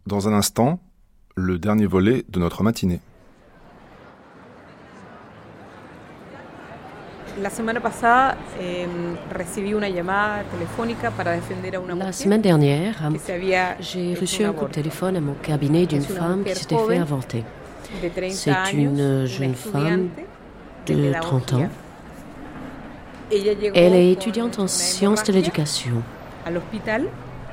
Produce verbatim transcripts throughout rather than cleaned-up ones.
Dans un instant, le dernier volet de notre matinée. La semaine passada, eh, recibí una llamada telefónica para defender a una La mujer semaine dernière, que se había j'ai hecho reçu un un coup de aborto. téléphone à mon cabinet d'une Es una femme qui mujer s'était fait joven, avorter. de treinta C'est años, une una jeune femme estudiante de trente ans. Ella llegó Elle est con étudiante en una sciences de hemorragia l'éducation. al hospital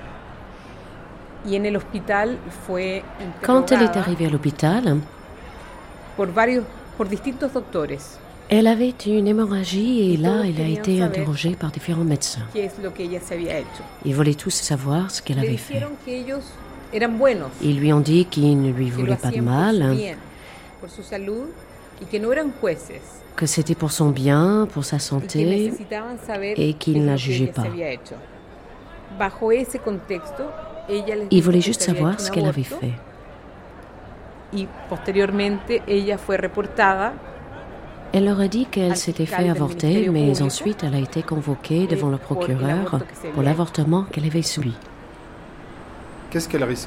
y en el hospital fue Quand elle est interrogada arrivée à l'hôpital, por varios, por distintos doctores. elle avait une hémorragie et Y là, todos elle a querían été saber interrogée par différents médecins. ¿Qué es lo que ella se había hecho? Ils voulaient tous savoir ce qu'elle Le avait fait. dijeron que ellos eran buenos, Ils lui ont dit qu'ils ne lui que lo voulaient pas de hacían por su mal, bien, por su salud y que no eran jueces. que c'était pour son bien, pour sa Y que santé, necesitaban saber et qué qu'il es ne la lo que jugeait ella se pas. había hecho. Bajo ese contexto, ella les Ils dijo voulaient que juste se había savoir hecho ce un qu'elle avait aborto fait. y posteriormente ella fue reportada Elle leur a dit qu'elle al s'était fiscal fait del avorter, Ministerio mais Público ensuite elle a été convoquée eh, devant le por el procureur aborto que se pour había l'avortement qu'elle avait subi. Qu'est-ce qu'elle risque ?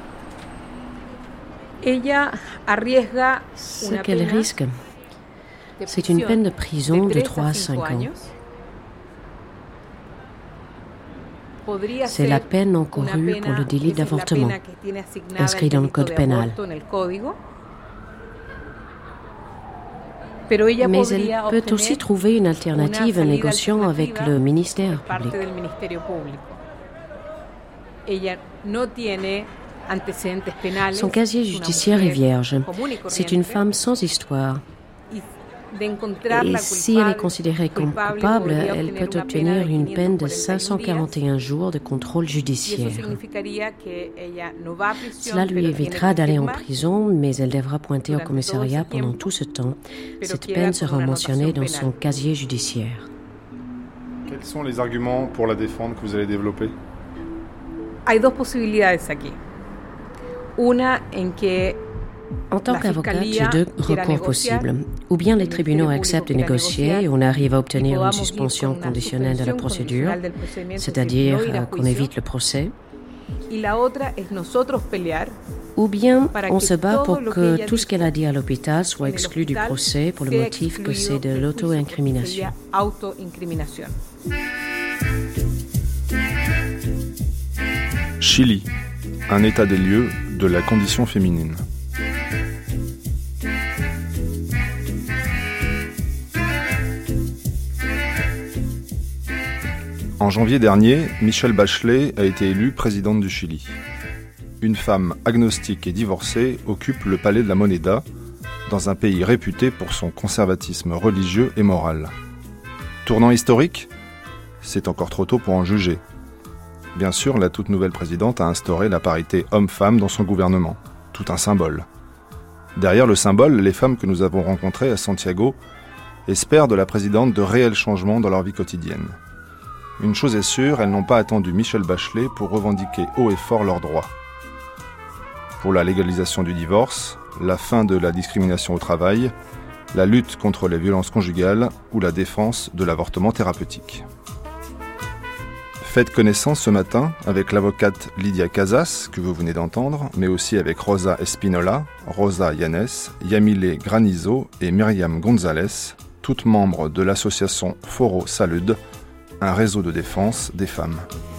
Ella arriesga Ce una qu'elle pena risque, de c'est une prisión peine de prison de tres trois à cinq cinco ans. años. Podría C'est la ser peine una encourue pena, pour le délit esa es la d'avortement, pena que tiene asignada inscrit el dans le delito code de pénal. aborto en el código. Pero ella Mais podría elle peut obtener aussi trouver une alternative una salida négociant avec alternativa le ministère por parte public. del Ministerio Público. Ella no tiene antecedentes penales. Son casier es una judiciaire est mujer vierge. común y C'est une corriente, femme sans histoire. y de encontrarla Et si elle est culpable, considérée comme culpable, coupable, podría elle obtener peut una obtenir pena de une peine de quinientos cuarenta y un cinq cent quarante et un jours de contrôle y eso judiciaire. significaría que ella no va a prisión, Cela lui pero évitera tiene que d'aller en firmar, prison, mais elle devra pointer au durante commissariat todo ese pendant tiempo, tout ce temps. pero Cette queda peine con sera una mentionnée anotación dans son penal. casier judiciaire. Quels sont les arguments pour la défendre que vous allez développer ? Hay dos posibilidades aquí. Una en que En tant la qu'avocate, j'ai fiscalía deux quiera recours negociar, possibles. Ou bien les el tribunaux Ministerio acceptent de Público quiera négocier et negociar on arrive à y obtenir une podamos ir suspension con una conditionnelle de la suspensión procédure, condicional del procedimiento, es decir, c'est-à-dire no ir a euh, qu'on juicio. évite le procès. Y la otra es nosotros pelear Ou bien para on que se bat todo pour lo que que ella tout ce qu'elle a dit à l'hôpital soit en el exclu du hospital procès pour le sea motif que excluido c'est de del juicio, porque l'auto-incrimination. sería autoincriminación. Chili, un état des lieux de la condition féminine. En janvier dernier, Michelle Bachelet a été élue présidente du Chili. Une femme agnostique et divorcée occupe le palais de la Moneda, dans un pays réputé pour son conservatisme religieux et moral. Tournant historique ? C'est encore trop tôt pour en juger. Bien sûr, la toute nouvelle présidente a instauré la parité homme-femme dans son gouvernement. Tout un symbole. Derrière le symbole, les femmes que nous avons rencontrées à Santiago espèrent de la présidente de réels changements dans leur vie quotidienne. Une chose est sûre, elles n'ont pas attendu Michelle Bachelet pour revendiquer haut et fort leurs droits. Pour la légalisation du divorce, la fin de la discrimination au travail, la lutte contre les violences conjugales ou la défense de l'avortement thérapeutique. Faites connaissance ce matin avec l'avocate Lydia Casas, que vous venez d'entendre, mais aussi avec Rosa Espinola, Rosa Yanes, Yamile Granizo et Myriam González, toutes membres de l'association Foro Salud, un réseau de défense des femmes.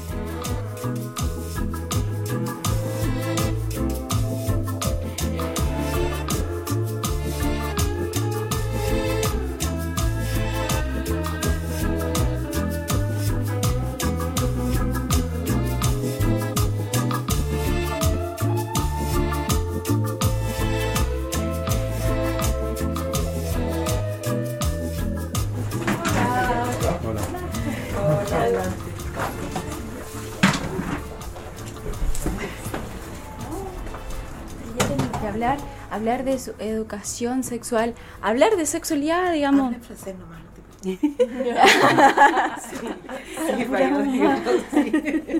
Hablar, hablar de su educación sexual, hablar de sexualidad, digamos. Habla en francés nomás, no te preocupes. Sí, sí, para que lo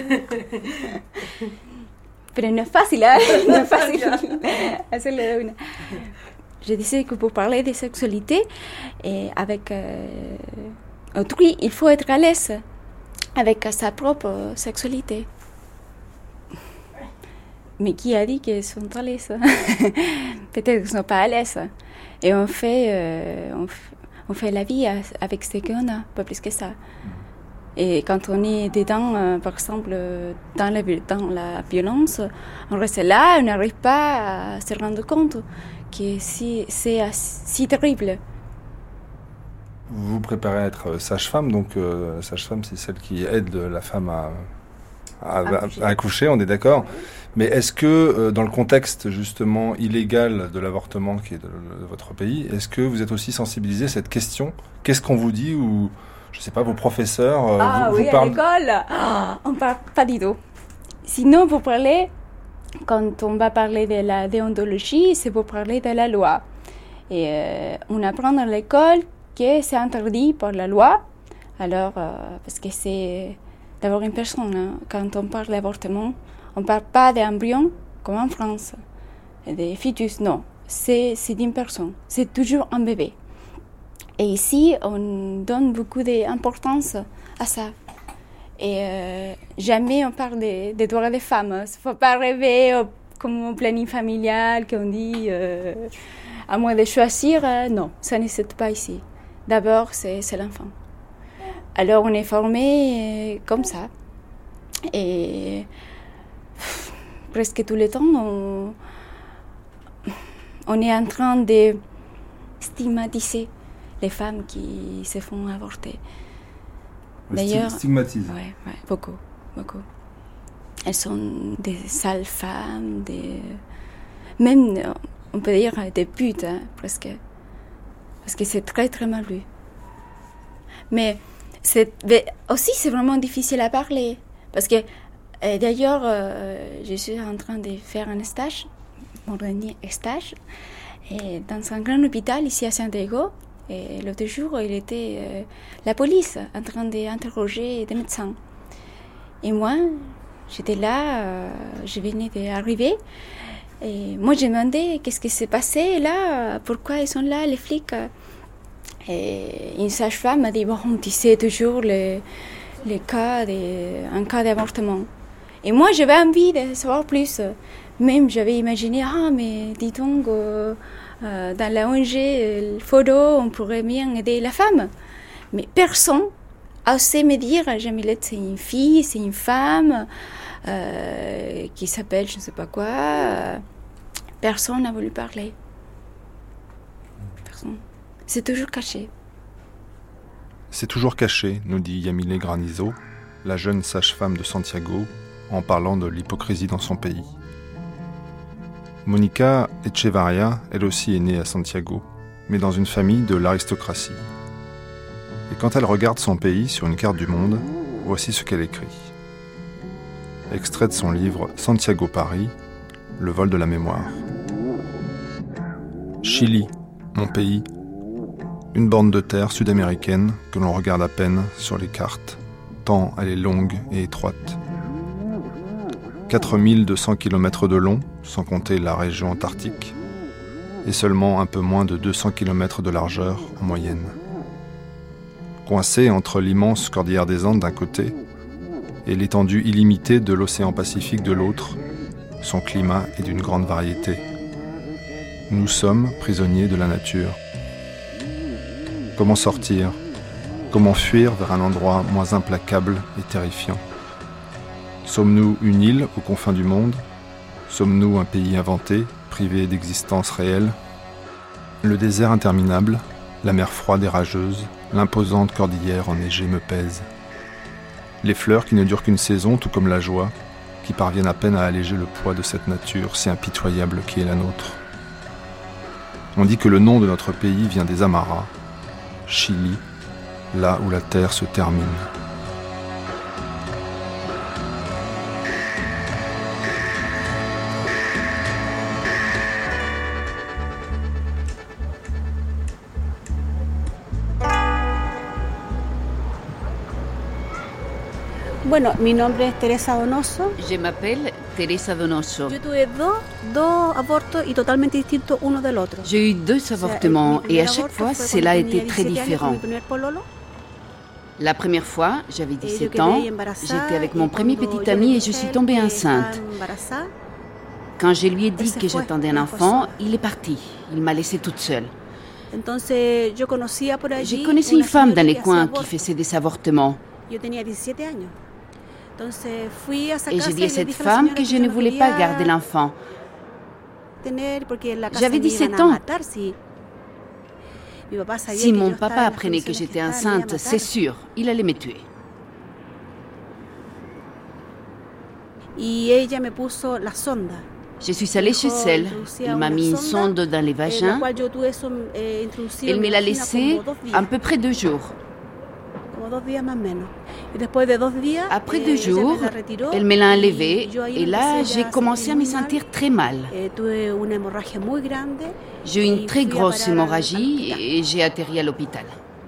Pero no es fácil, hein? No es fácil hacerlo de una. Je disais que pour parler de sexualité et avec euh, autrui, il faut être à l'aise avec sa propre sexualité. mais qui a dit qu'elles sont à l'aise? Peut-être qu'elles ne sont pas à l'aise. Et on fait, euh, on, f- on fait la vie avec ce qu'on a, pas plus que ça. Et quand on est dedans, euh, par exemple, dans la, dans la violence, on reste là, on n'arrive pas à se rendre compte que si, c'est si terrible. Vous vous préparez à être sage-femme, donc euh, sage-femme, c'est celle qui aide la femme à, à, à, à accoucher, on est d'accord. Mais est-ce que, euh, dans le contexte justement illégal de l'avortement qui est de, de votre pays, est-ce que vous êtes aussi sensibilisé à cette question? Qu'est-ce qu'on vous dit, ou je ne sais pas, vos professeurs euh, Ah vous, oui, vous parlent... à l'école, oh, on ne parle pas du tout. Sinon, pour parler, quand on va parler de la déontologie, c'est pour parler de la loi. Et euh, on apprend à l'école que c'est interdit par la loi, alors, euh, parce que c'est d'abord une personne. Hein. Quand on parle d'avortement, on ne parle pas d'embryon comme en France, des fœtus, non. C'est, c'est d'une personne, c'est toujours un bébé. Et ici, on donne beaucoup d'importance à ça. Et euh, jamais on parle des, des droits des femmes. Il ne faut pas rêver au, comme au planning familial, qu'on dit, euh, à moins de choisir. Euh, non, ça n'existe pas ici. D'abord, c'est, c'est l'enfant. Alors, on est formé euh, comme ça. Et pff, presque tout le temps, on, on est en train de stigmatiser les femmes qui se font avorter. D'ailleurs, stigmatise. Oui, ouais, beaucoup, beaucoup. Elles sont des sales femmes, des... même, on peut dire, des putes, hein, presque. Parce que c'est très, très mal vu. Mais, c'est... Mais aussi, c'est vraiment difficile à parler. Parce que, euh, d'ailleurs, euh, je suis en train de faire un stage, mon dernier stage, et dans un grand hôpital ici à Santiago. Et l'autre jour, il était euh, la police en train d'interroger des médecins. Et moi, j'étais là, euh, je venais d'arriver. Et moi, j'ai demandé qu'est-ce qui s'est passé là, pourquoi ils sont là, les flics. Et une sage-femme m'a dit, bon, tu sais toujours les, les cas, de, un cas d'avortement. Et moi, j'avais envie de savoir plus. Même, j'avais imaginé, ah, mais dis donc... Euh, Euh, dans la O N G, le photo, on pourrait bien aider la femme. Mais personne a osé me dire, Jamilette, c'est une fille, c'est une femme, euh, qui s'appelle je ne sais pas quoi. Euh, personne n'a voulu parler. Personne. C'est toujours caché. C'est toujours caché, nous dit Yamile Granizo, la jeune sage-femme de Santiago, en parlant de l'hypocrisie dans son pays. Monica Echevarria, elle aussi est née à Santiago, mais dans une famille de l'aristocratie. Et quand elle regarde son pays sur une carte du monde, voici ce qu'elle écrit. Extrait de son livre Santiago Paris, le vol de la mémoire. Chili, mon pays, une bande de terre sud-américaine que l'on regarde à peine sur les cartes, tant elle est longue et étroite. quatre mille deux cents kilomètres de long, sans compter la région antarctique, et seulement un peu moins de deux cents kilomètres de largeur en moyenne. Coincée entre l'immense cordillère des Andes d'un côté et l'étendue illimitée de l'océan Pacifique de l'autre, son climat est d'une grande variété. Nous sommes prisonniers de la nature. Comment sortir ? Comment fuir vers un endroit moins implacable et terrifiant ? Sommes-nous une île aux confins du monde ? Sommes-nous un pays inventé, privé d'existence réelle ? Le désert interminable, la mer froide et rageuse, l'imposante cordillère enneigée me pèsent. Les fleurs qui ne durent qu'une saison, tout comme la joie, qui parviennent à peine à alléger le poids de cette nature si impitoyable qui est la nôtre. On dit que le nom de notre pays vient des Amaras, Chili, là où la terre se termine. Bueno, mi nombre es Teresa Donoso. Je m'appelle Teresa Donoso. Yo tuve dos, dos abortos y totalmente distintos uno del otro. J'ai eu deux avortements et à chaque fois, cela a été très différent. La première fois, j'avais dix-sept ans, j'étais avec mon premier petit ami et je suis tombée enceinte. Quand je lui ai dit que j'attendais un enfant, il est parti. Il m'a laissée toute seule. Je connaissais une femme dans les coins qui faisait des avortements. Et j'ai dit à cette femme que je ne voulais pas garder l'enfant. J'avais dix-sept ans. Si mon papa apprenait que j'étais enceinte, c'est sûr, il allait me tuer. Je suis allée chez elle. Il m'a mis une sonde dans les vagins. Elle me l'a laissée à peu près deux jours. Après deux jours, elle me l'a enlevée et là, j'ai commencé à me sentir très mal. J'ai eu une très grosse hémorragie et j'ai atterri à l'hôpital.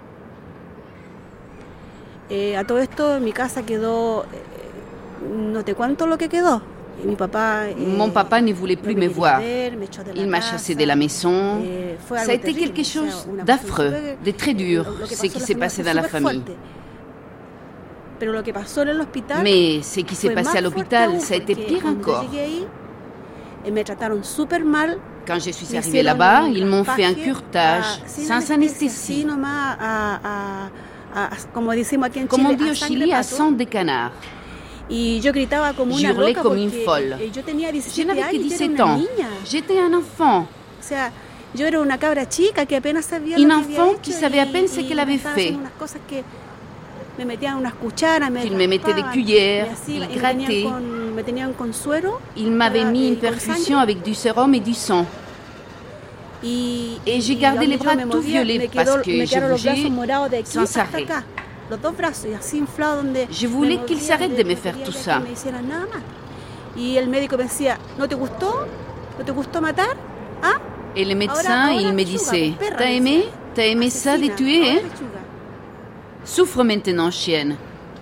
Mon papa ne voulait plus me voir. Il m'a chassée de la maison. Ça a été quelque chose d'affreux, de très dur, ce qui s'est passé dans la famille. Mais ce qui s'est passé à l'hôpital, ça a été pire encore. Quand je suis arrivée là-bas, ils m'ont fait un curetage sans anesthésie. Comme on dit au Chili, à sang de canard. Je hurlais comme une folle. Je n'avais que dix-sept ans. J'étais un enfant. Une enfant qui savait à peine ce qu'elle avait fait. Il me mettait des cuillères, il grattait. Il m'avait mis une perfusion avec du sérum et du sang. Et j'ai gardé les bras tout violets parce que je bougeais sans arrêt. Je voulais qu'il s'arrête de me faire tout ça. Et le médecin, il me disait, « T'as aimé? T'as aimé ça de tuer, hein? Souffre maintenant, chienne.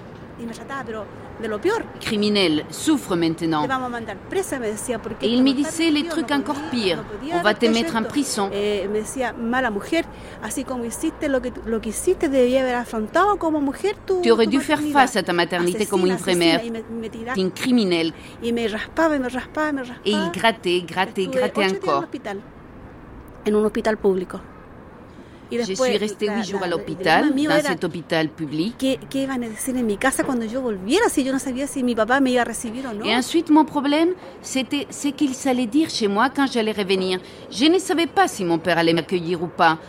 Criminel, souffre maintenant. » Et il me disait les trucs encore pires. On va te mettre en prison. Tu aurais dû faire face à ta maternité comme une vraie mère. Tu es une criminelle. Et il grattait, grattait, grattait encore. Je suis restée huit jours à l'hôpital, dans cet hôpital public. Et ensuite, mon problème, c'était ce qu'ils allaient dire chez moi quand j'allais revenir. Je ne savais pas si mon père allait m'accueillir ou pas.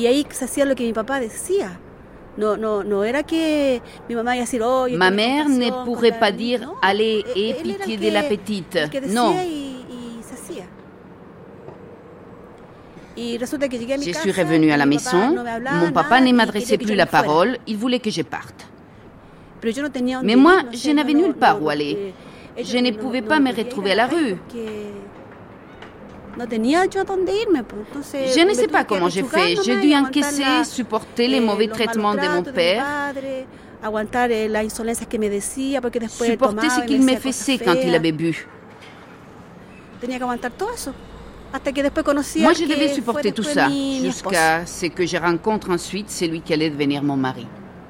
Ma mère ne pourrait pas dire « Allez, aie pitié de la petite ». Non. Je suis revenue à la maison. Mon papa ne m'adressait plus la parole. Il voulait que je parte. Mais moi, je n'avais nulle part où aller. Je ne pouvais pas me retrouver à la rue. Je ne sais pas comment j'ai fait. J'ai dû encaisser, supporter les mauvais traitements de mon père, supporter ce qu'il me faisait quand il avait bu. Moi, je devais supporter tout ça, jusqu'à ce que je rencontre ensuite celui qui allait devenir mon mari.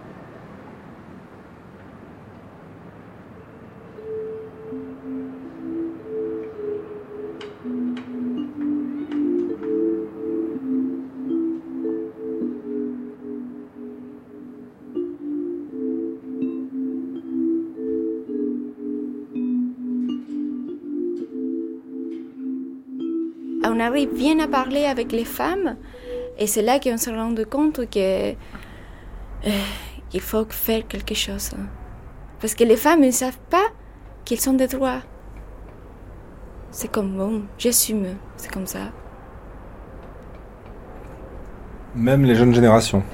On arrive bien à parler avec les femmes et c'est là qu'on se rend compte que, euh, qu'il faut faire quelque chose. Parce que les femmes ne savent pas qu'ils ont des droits. C'est comme bon, j'assume, c'est comme ça. Même les jeunes générations.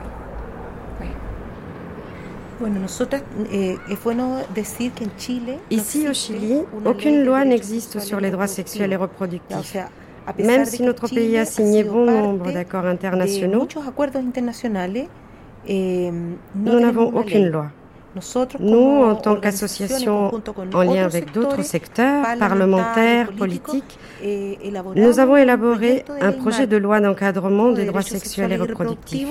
Ici au Chili, aucune loi n'existe sur les droits sexuels et reproductifs. Même si notre pays a signé bon nombre d'accords internationaux, nous n'avons aucune loi. Nous, en tant qu'association en lien avec d'autres secteurs, parlementaires, politiques, nous avons élaboré un projet de loi d'encadrement des droits sexuels et reproductifs.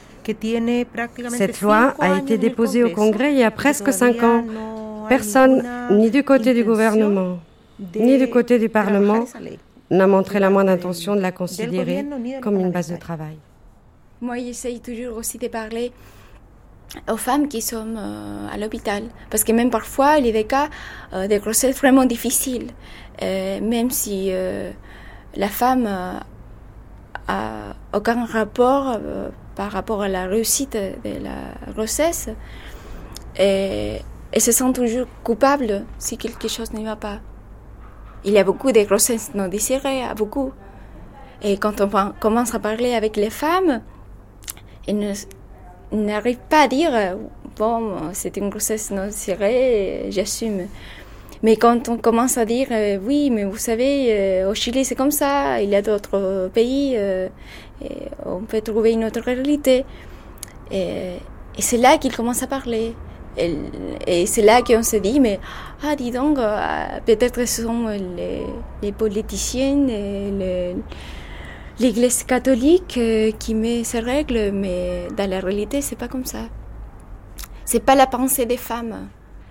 Cette loi a été déposée au Congrès il y a presque cinq ans. Personne, ni du côté du gouvernement, ni du côté du Parlement, n'a montré la moindre intention de la considérer comme une base de travail. Moi, j'essaye toujours aussi de parler aux femmes qui sont euh, à l'hôpital. Parce que même parfois, il y a des cas euh, de grossesse vraiment difficiles. Euh, même si euh, la femme euh, a aucun rapport euh, par rapport à la réussite de la grossesse, et elle se sent toujours coupable si quelque chose ne va pas. Il y a beaucoup de grossesses non désirées, beaucoup. Et quand on commence à parler avec les femmes, elles ne n'arrive pas à dire bon, c'est une grossesse non désirée, j'assume. Mais quand on commence à dire oui, mais vous savez, au Chili c'est comme ça, il y a d'autres pays, et on peut trouver une autre réalité. Et, et c'est là qu'ils commencent à parler. Et, et c'est là qu'on se dit mais ah dis donc, peut-être ce sont les, les politiciens, les, l'Église catholique euh, qui met ses règles, mais dans la réalité, c'est pas comme ça. C'est pas la pensée des femmes.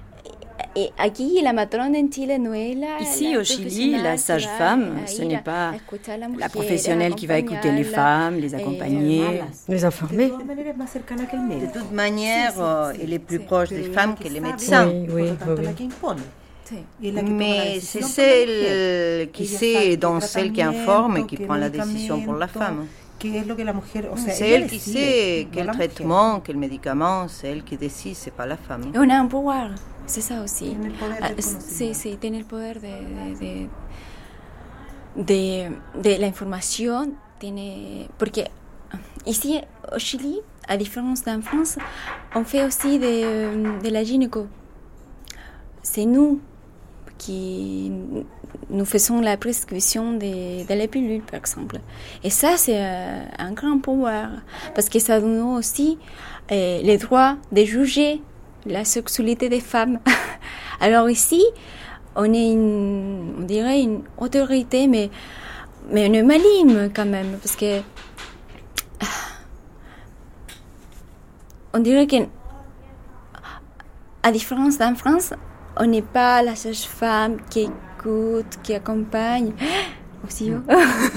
Ici, au Chili, la sage-femme, ce n'est pas la professionnelle qui va écouter les femmes, les accompagner, les informer. De toute manière, elle est plus proche des femmes que les médecins. Oui, oui, oui. Mais c'est celle qui sait et donc celle qui informe et qui prend la décision pour la femme. C'est elle qui sait quel traitement, quel médicament, c'est elle qui décide, c'est pas la femme. On a un pouvoir, c'est ça aussi. C'est, c'est tener le pouvoir de, de, de, de l'information. Porque ici, au Chili, à différence d'en France, on fait aussi de, de la gynéco. C'est nous qui nous faisons la prescription de, de la pilule, par exemple. Et ça, c'est euh, un grand pouvoir, parce que ça donne aussi euh, le droit de juger la sexualité des femmes. Alors ici, on est une, on dirait une autorité, mais, mais on est maligne quand même, parce que on dirait que, à différence d'en France, on n'est pas la sage-femme qui écoute, qui accompagne. Aussi, oh.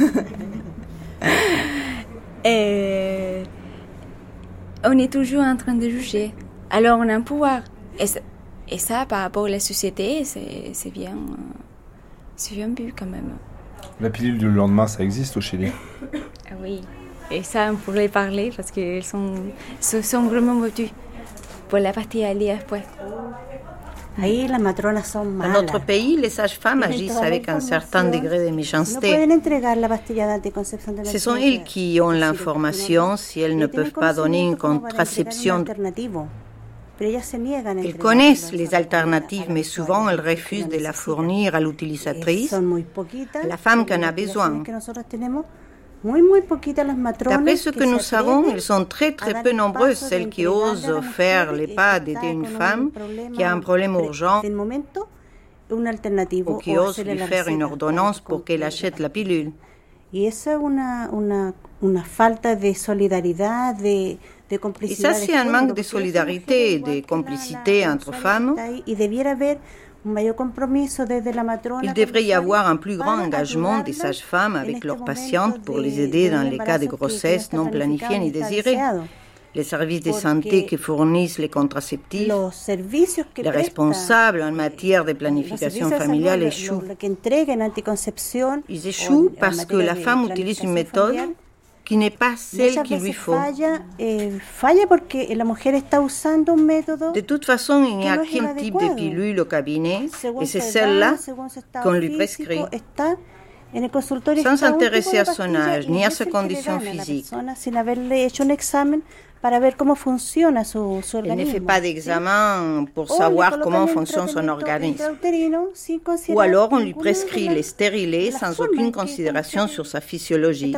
Et on est toujours en train de juger. Alors on a un pouvoir. Et, et ça, par rapport à la société, c'est, c'est, bien, c'est bien vu quand même. La pilule du lendemain, ça existe au Chili? Ah oui. Et ça, on pourrait parler parce qu'elles sont, sont vraiment motivées pour la partie à lire après. Dans notre pays, les sages-femmes agissent avec un certain degré de méchanceté. Ce sont elles qui ont l'information si elles ne peuvent pas donner une contraception. Elles connaissent les alternatives, mais souvent elles refusent de la fournir à l'utilisatrice, à la femme qui en a besoin. D'après ce que nous savons, elles sont très très peu nombreuses, celles qui osent faire les pas d'aider une femme qui a un problème urgent ou qui osent lui faire une ordonnance pour qu'elle achète la pilule. Et ça, c'est un manque de solidarité et de complicité entre femmes. Il devrait y avoir un plus grand engagement des sages-femmes avec leurs patientes pour les aider dans les cas de grossesse non planifiée ni désirée. Les services de santé qui fournissent les contraceptifs, les responsables en matière de planification familiale échouent. Ils échouent parce que la femme utilise une méthode qui n'est pas celle qu'il lui faut. De toute façon, il n'y a qu'un type de pilule au cabinet, et c'est celle-là qu'on lui prescrit, sans s'intéresser à son âge ni à ses conditions physiques. Elle ne fait pas d'examen pour savoir comment fonctionne son organisme. Ou alors on lui prescrit les stérilés sans aucune considération sur sa physiologie.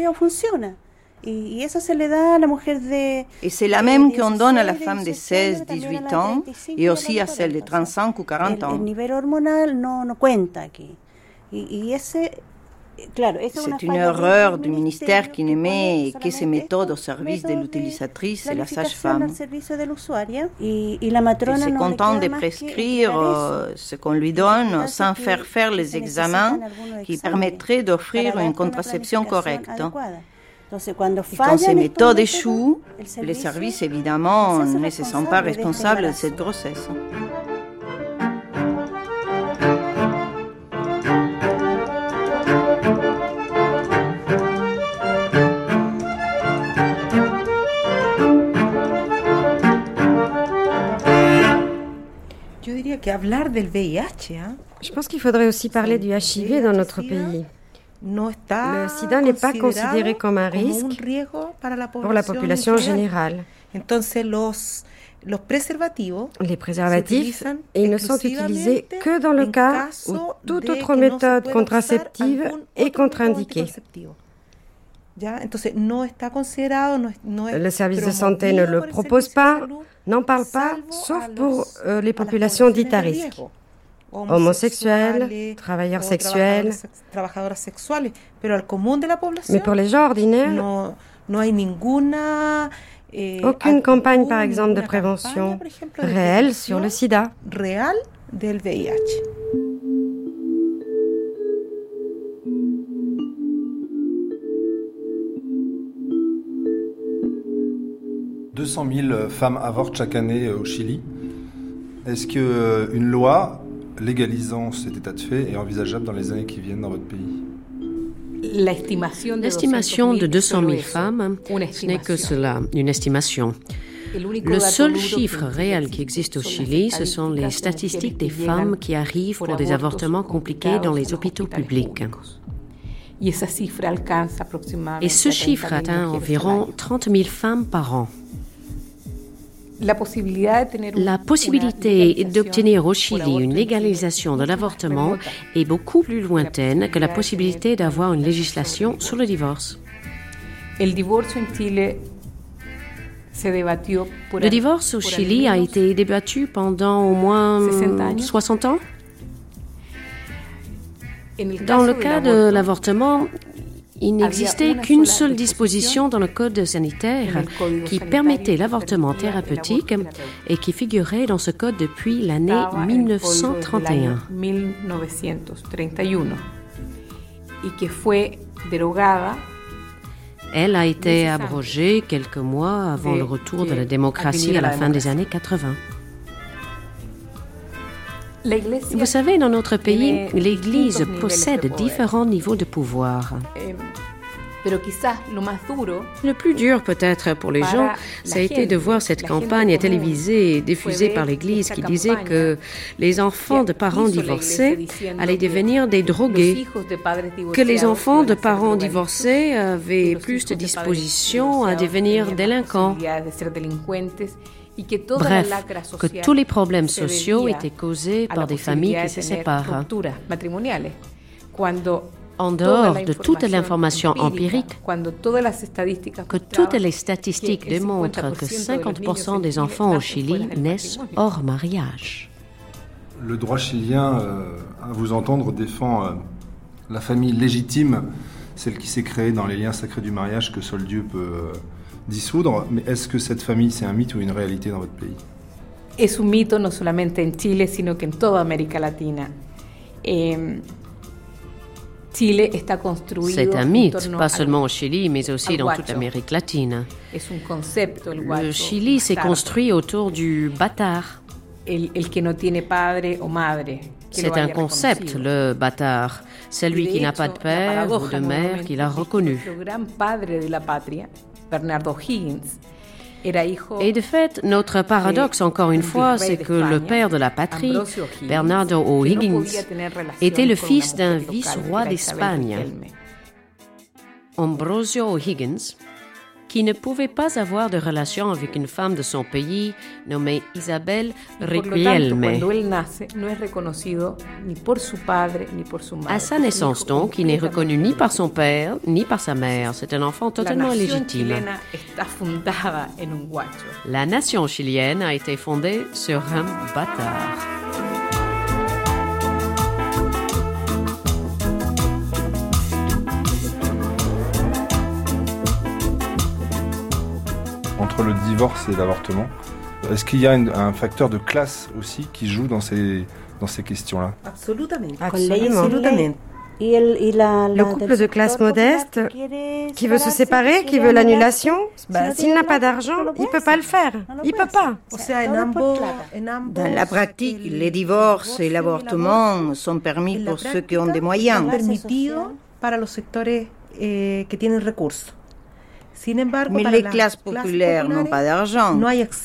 Et c'est la même qu'on donne à la femme de seize à dix-huit ans et aussi à celle de trente-cinq ou quarante ans. C'est une erreur du ministère qui ne met que ces méthodes au service de l'utilisatrice et la sage-femme. Il se contente de prescrire ce qu'on lui donne sans faire faire les examens qui permettraient d'offrir une contraception correcte. Et quand ces méthodes échouent, les services évidemment ne se sentent pas responsables de cette grossesse. Je pense qu'il faudrait aussi parler du H I V dans notre pays. Le sida n'est pas considéré comme un risque pour la population générale. Les préservatifs, ils ne sont utilisés que dans le cas où toute autre méthode contraceptive est contre-indiquée. Le service de santé ne le propose pas, n'en parle pas, sauf pour euh, les populations dites à risque. Homosexuels, travailleurs sexuels. Mais pour les gens ordinaires, aucune campagne, par exemple, de prévention réelle sur le sida. deux cent mille femmes avortent chaque année au Chili. Est-ce qu'une loi légalisant cet état de fait est envisageable dans les années qui viennent dans votre pays? L'estimation de deux cent mille femmes, ce n'est que cela, une estimation. Le seul chiffre réel qui existe au Chili, ce sont les statistiques des femmes qui arrivent pour des avortements compliqués dans les hôpitaux publics. Et ce chiffre atteint environ trente mille femmes par an. La possibilité d'obtenir au Chili une légalisation de l'avortement est beaucoup plus lointaine que la possibilité d'avoir une législation sur le divorce. Le divorce au Chili a été débattu pendant au moins soixante ans. Dans le cas de l'avortement, il n'existait qu'une seule disposition dans le code sanitaire qui permettait l'avortement thérapeutique et qui figurait dans ce code depuis l'année mille neuf cent trente et un. Elle a été abrogée quelques mois avant le retour de la démocratie à la fin des années quatre-vingt. Vous savez, dans notre pays, l'Église possède différents niveaux de pouvoir. Le plus dur peut-être pour les gens, ça a été de voir cette campagne télévisée diffusée par l'Église qui disait que les enfants de parents divorcés allaient devenir des drogués, que les enfants de parents divorcés avaient plus de dispositions à devenir délinquants. Bref, que tous les problèmes sociaux étaient causés par des familles qui se séparent. En dehors de toute l'information empirique, que toutes les statistiques démontrent que cinquante pour cent des enfants au Chili naissent hors mariage. Le droit chilien, euh, à vous entendre, défend euh, la famille légitime, celle qui s'est créée dans les liens sacrés du mariage que seul Dieu peut euh, dissoudre. Mais est-ce que cette famille, c'est un mythe ou une réalité dans votre pays? Es un mito no solamente en Chile, sino que en toda América Latina. Eh, C'est un mythe, pas seulement au Chili, mais aussi dans toute l'Amérique latine. Le Chili s'est construit autour du bâtard. C'est un concept, le bâtard. Celui qui n'a pas de père ou de mère qui l'a reconnu. Et de fait, notre paradoxe, encore une fois, c'est que le père de la patrie, Bernardo O'Higgins, était le fils d'un vice-roi d'Espagne, Ambrosio O'Higgins, qui ne pouvait pas avoir de relation avec une femme de son pays nommée Isabel Riquelme. À sa naissance donc, il n'est reconnu ni par son père ni par sa mère. C'est un enfant totalement illégitime. La nation chilienne a été fondée sur un bâtard. entre le divorce et l'avortement. Est-ce qu'il y a un, un facteur de classe aussi qui joue dans ces, dans ces questions-là? Absolument. Absolument. Le couple de classe modeste qui veut se séparer, qui veut l'annulation, bah, s'il n'a pas d'argent, il ne peut pas le faire. Il ne peut pas. Dans la pratique, les divorces et l'avortement sont permis pour ceux qui ont des moyens. Mais les classes populaires n'ont pas d'argent.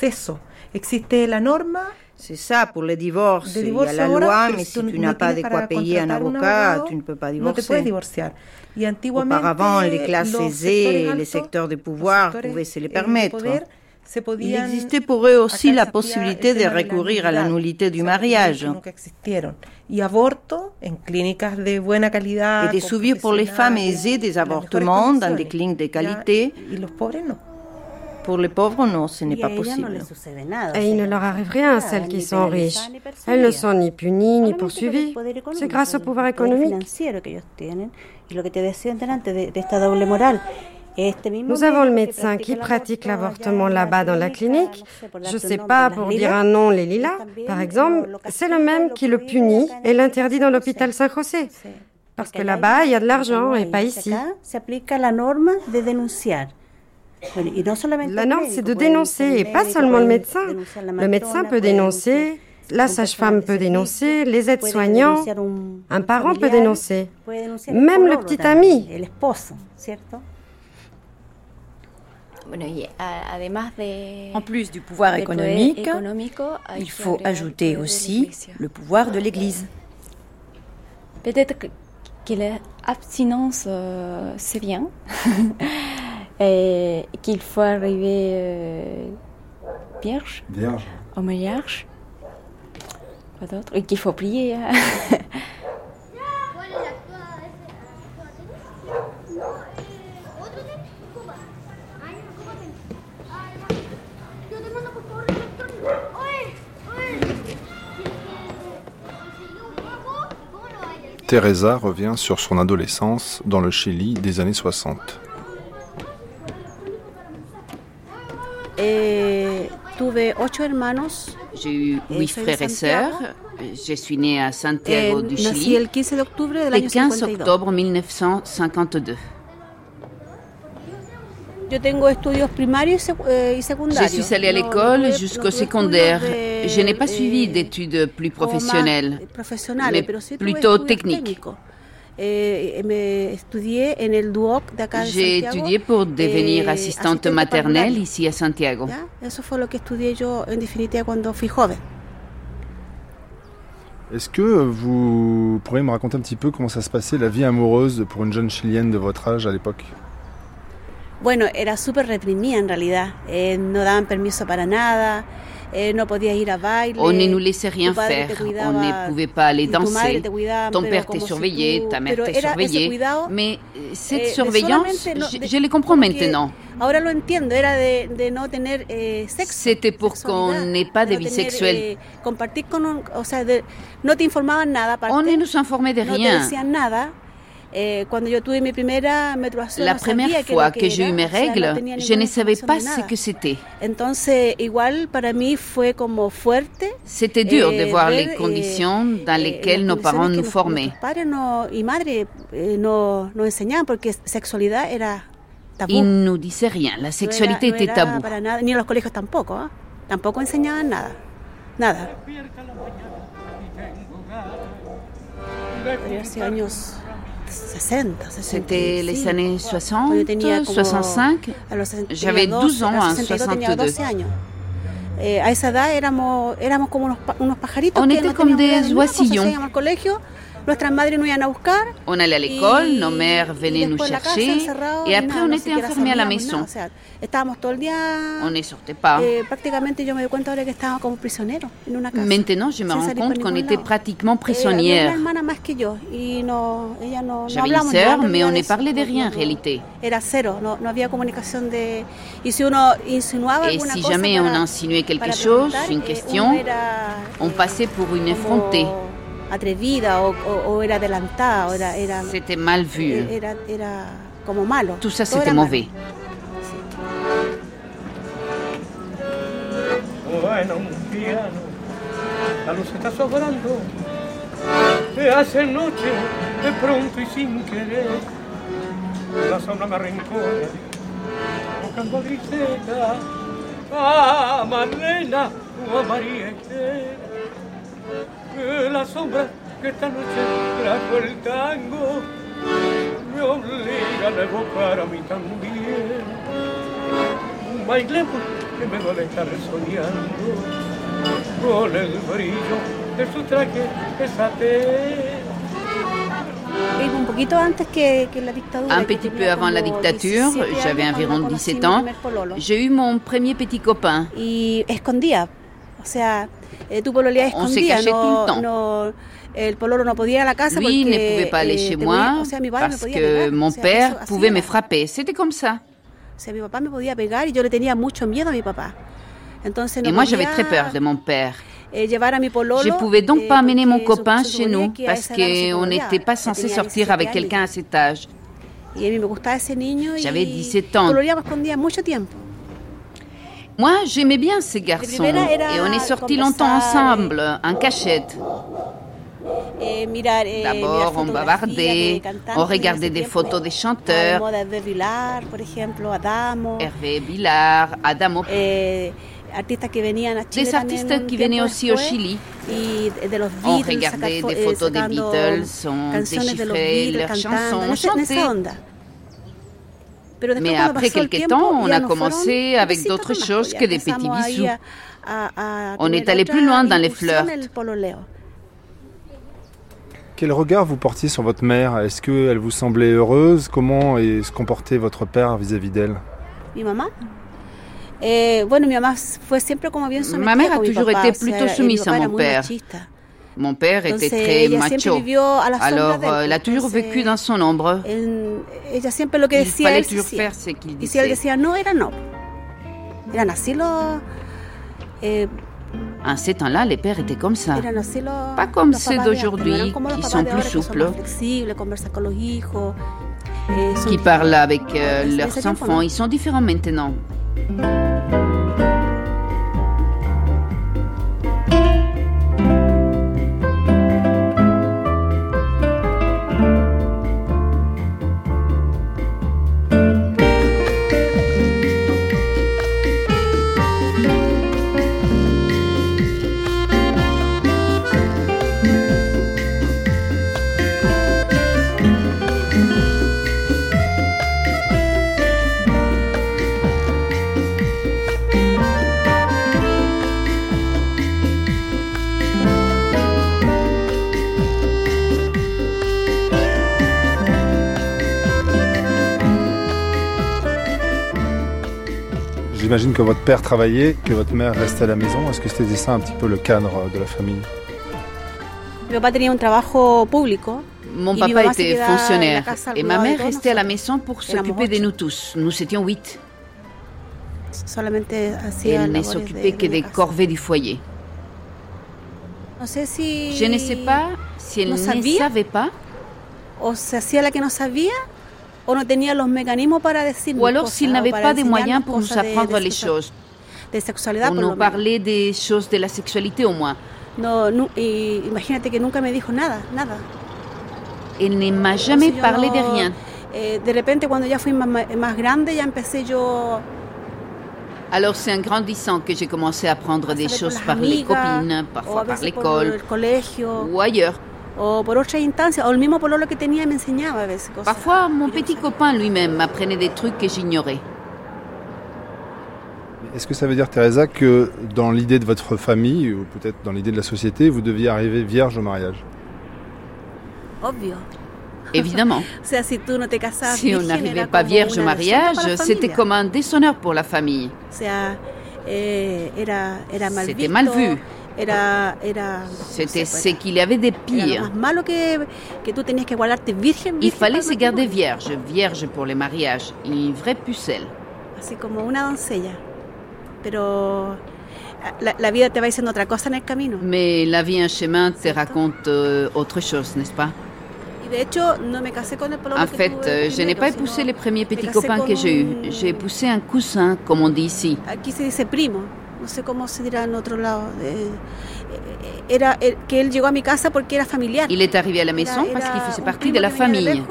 C'est ça, pour les divorces, il y a la loi, mais si tu n'as pas de quoi payer un avocat, tu ne peux pas divorcer. Auparavant, les classes aisées et les secteurs de pouvoir pouvaient se les permettre. Il existait pour eux aussi la possibilité de recourir à la nullité du mariage et de subir pour les femmes aisées des avortements dans des cliniques de qualité. Pour les pauvres, non, ce n'est pas possible. Et il ne leur arrive rien à celles qui sont riches. Elles ne sont ni punies ni poursuivies. C'est grâce au pouvoir économique. Nous avons le médecin qui pratique l'avortement là-bas dans la clinique. Je ne sais pas, pour dire un nom, les lilas, par exemple, c'est le même qui le punit et l'interdit dans l'hôpital Saint-José. Parce que là-bas, il y a de l'argent et pas ici. La norme, c'est de dénoncer, et pas seulement le médecin. Le médecin peut dénoncer, la sage-femme peut dénoncer, les aides-soignants, un parent peut dénoncer, même le petit ami. En plus du pouvoir économique, il faut ajouter aussi le pouvoir de l'Église. Peut-être que l'abstinence, euh, c'est bien. Et qu'il faut arriver euh, vierge, vierge au mariage. Quoi d'autre? Et qu'il faut prier. Hein. Teresa revient sur son adolescence dans le Chili des années soixante. J'ai eu huit frères et sœurs. Je suis née à Santiago du Chili le quinze octobre mille neuf cent cinquante-deux. Je suis allée à l'école jusqu'au secondaire. Je n'ai pas suivi d'études plus professionnelles, mais plutôt techniques. J'ai étudié pour devenir assistante maternelle ici à Santiago. Est-ce que vous pourriez me raconter un petit peu comment ça se passait, la vie amoureuse pour une jeune Chilienne de votre âge à l'époque? Bueno, era súper reprimida en realidad. Eh, no daban permiso para nada. Eh, no podías ir a baile. On ne nous laissait rien faire. On ne pouvait pas aller danser. Ton père te surveillait, ta mère te surveillait. Mais cette eh, surveillance, no, je, je les comprends maintenant. Ahora lo entiendo, era de, de no tener eh, sexo. C'était pour qu'on n'ait pas de, de vie tener, sexuelle. Eh, compartir con un, o sea, de, no te informaban nada. Aparte, on ne nous informait de rien. No te decían nada. Eh, cuando yo tuve mi primera menstruación, la no première fois que, que j'ai eu mes règles, o sea, no je ne savais pas ce que c'était. Entonces, igual para mí fue como fuerte. C'était dur eh, de voir ver, les conditions eh, dans lesquelles eh, nos parents nous formaient. Padres no, y madre eh, no, no enseñaban porque sexualidad era tabú. Ils ne nous disaient rien, la sexualité no era, était no era tabou. Para nada, ni en los colegios tampoco, ¿eh? Tampoco enseñaban nada, nada. Hace años C'était les années soixante, soixante-cinq. J'avais douze ans en soixante-deux. On était comme des oisillons. On allait à l'école, nos mères venaient nous chercher et après on était enfermés à la maison. On ne sortait pas. Maintenant, je me rends compte qu'on était pratiquement prisonnières. J'avais une sœur, mais on ne parlait de rien en réalité. Et si jamais on insinuait quelque chose, une question, on passait pour une effrontée. Atrevida o, o, o era adelantada, era, era, c'était mal vu. Era, era como malo. Tout ça, c'était mauvais. suena un piano, la luz está sobrando, se hace noche de pronto y sin querer, la sombra me arrincona, buscando griseta, a Marlena o a María Esther, la sombra que esta noche trajo el tango, me obligan a evocar a mí también. Bailemos que me duele estar soñando con el brillo de su traje de satén. Un poquito antes que, que la dictadura. Un petit peu avant la dictature, j'avais environ dix-sept ans, j'ai eu mon premier petit copain. Y escondía, o sea, eh, tu pololeabas escondía, no, no, el pololo no podía ir a la casa. Lui ne pouvait pas aller chez moi parce que mon père pouvait me frapper. C'était comme ça. O sea, mi papá me podía pegar y yo le tenía mucho miedo a mi papá. Entonces, no et moi, j'avais très peur de mon père. Eh, llevar a mi pololo, je ne pouvais donc eh, pas amener mon copain su, su chez nous parce qu'on no n'était pas censé sortir avec quelqu'un à cet âge. Y a mí me gustaba ese niño J'avais dix-sept ans. Mucho tiempo. Moi, j'aimais bien ces garçons et on est sortis longtemps ensemble, en cachette. Eh, mirar, eh, D'abord, on bavardait, on regardait des photos des chanteurs. Hervé Vilar, por ejemplo, Adamo. Hervé Vilar, Adamo. Eh, artistas que venían a Chile des artistes qui venaient aussi au Chili. Y de los on Beatles, regardait des photos des Beatles, on déchiffrait leurs chansons, on chantait. Mais après quelques temps, on a commencé avec d'autres choses que des petits bisous. On est allé plus loin dans les flirts. Quel regard vous portiez sur votre mère? Est-ce qu'elle vous semblait heureuse? Comment est- se comportait votre père vis-à-vis d'elle? Mi mamá. Eh, bueno, mi mamá fue siempre como bien sometida Ma mère a con mi toujours papá, été o sea, plutôt mi soumise papá à era mon muy père. machista. Mon père était Entonces, très ella siempre macho. vivió a la sombra Alors, de él, elle a toujours entonces, vécu dans son ombre. él- ella siempre lo que Il decía fallait él se toujours hacía. faire ce qu'il Y si él disait. decía no, era no. Eran así los... Eh, En ces temps-là, les pères étaient comme ça. eran así los Pas comme los ceux papás de d'aujourd'hui, antes, no eran como los qui papás sont de plus ahora, que son souples. más flexibles, conversan con los hijos. eh, son- Qui parlent avec euh, En ese leurs tiempo, enfants. no. Ils sont différents maintenant. J'imagine que votre père travaillait, que votre mère restait à la maison. Est-ce que c'était ça un petit peu le cadre de la famille? Mi papá tenía un trabajo público. Mon Y mi papa mamá se était quedaba en la fonctionnaire casa al et ma cuidado de mère todos restait à la nosotros. maison pour Éramos s'occuper de ocho. nous tous. Nous étions huit. Solamente Et hacía elle ne labores s'occupait de, que de des la casa. corvées du foyer. No sé si Je ne sais pas si elle no ne sabía, savait pas o se hacía la que no sabía, o no tenía los mecanismos para decirnos ou alors cosas, s'il o n'avait para pas des enseñarnos moyens pour nous cosas de- apprendre de les sexua- choses, de sexualidad, pour por lo nous menos. parler des choses de la sexualité au moins. No, no, y imagínate que nunca me dijo nada, nada. Elle ne m'a jamais Entonces yo parlé no- de rien. eh, de repente cuando ya fui más, más grande ya empecé yo Alors c'est en grandissant que j'ai commencé à apprendre a des saber por choses las par les amigas, copines, o a parfois par veces por l'école el colegio, ou ailleurs. o por otras instancias, o el mismo pololo que tenía me enseñaba a veces cosas. Parfois, mon que yo no petit sabía. copain lui-même m'apprenait des trucs que j'ignorais. Est-ce que ça veut dire, Teresa, que dans l'idée de votre famille, ou peut-être dans l'idée de la société, vous deviez arriver vierge au mariage? Obvio. Évidemment. O sea, si tú no te casabas Si on virgen, n'arrivait era pas como vierge au una deshonra mariage, para la c'était familia. comme un déshonneur pour la famille. O sea, eh, era, era mal C'était visto, mal vu. Era, era, C'était no sé, ce qu'il y avait de era lo pire. más malo que, que tú tenías que guardarte virgen, Il virgen fallait para se el garder matrimonio. vierge, vierge pour les mariages, une vraie pucelle. Así como una doncella. Pero la, la vida te va diciendo otra cosa en el camino. Mais la vie en chemin te raconte euh, autre chose, n'est-ce pas? Y de hecho, no me casé con el pololo En que fait, tuve euh, je n'ai primero, pas sino épousé les premiers petits me casé copains con que j'ai eus. un- J'ai épousé un cousin, comme on dit ici. Aquí se dice primo. no sé cómo se dirá en otro lado. Eh, era eh, que él llegó a mi casa porque era familiar. Il est arrivé à la maison Era- parce qu'il era faisait un partie primo de la que venía de famille. lejos.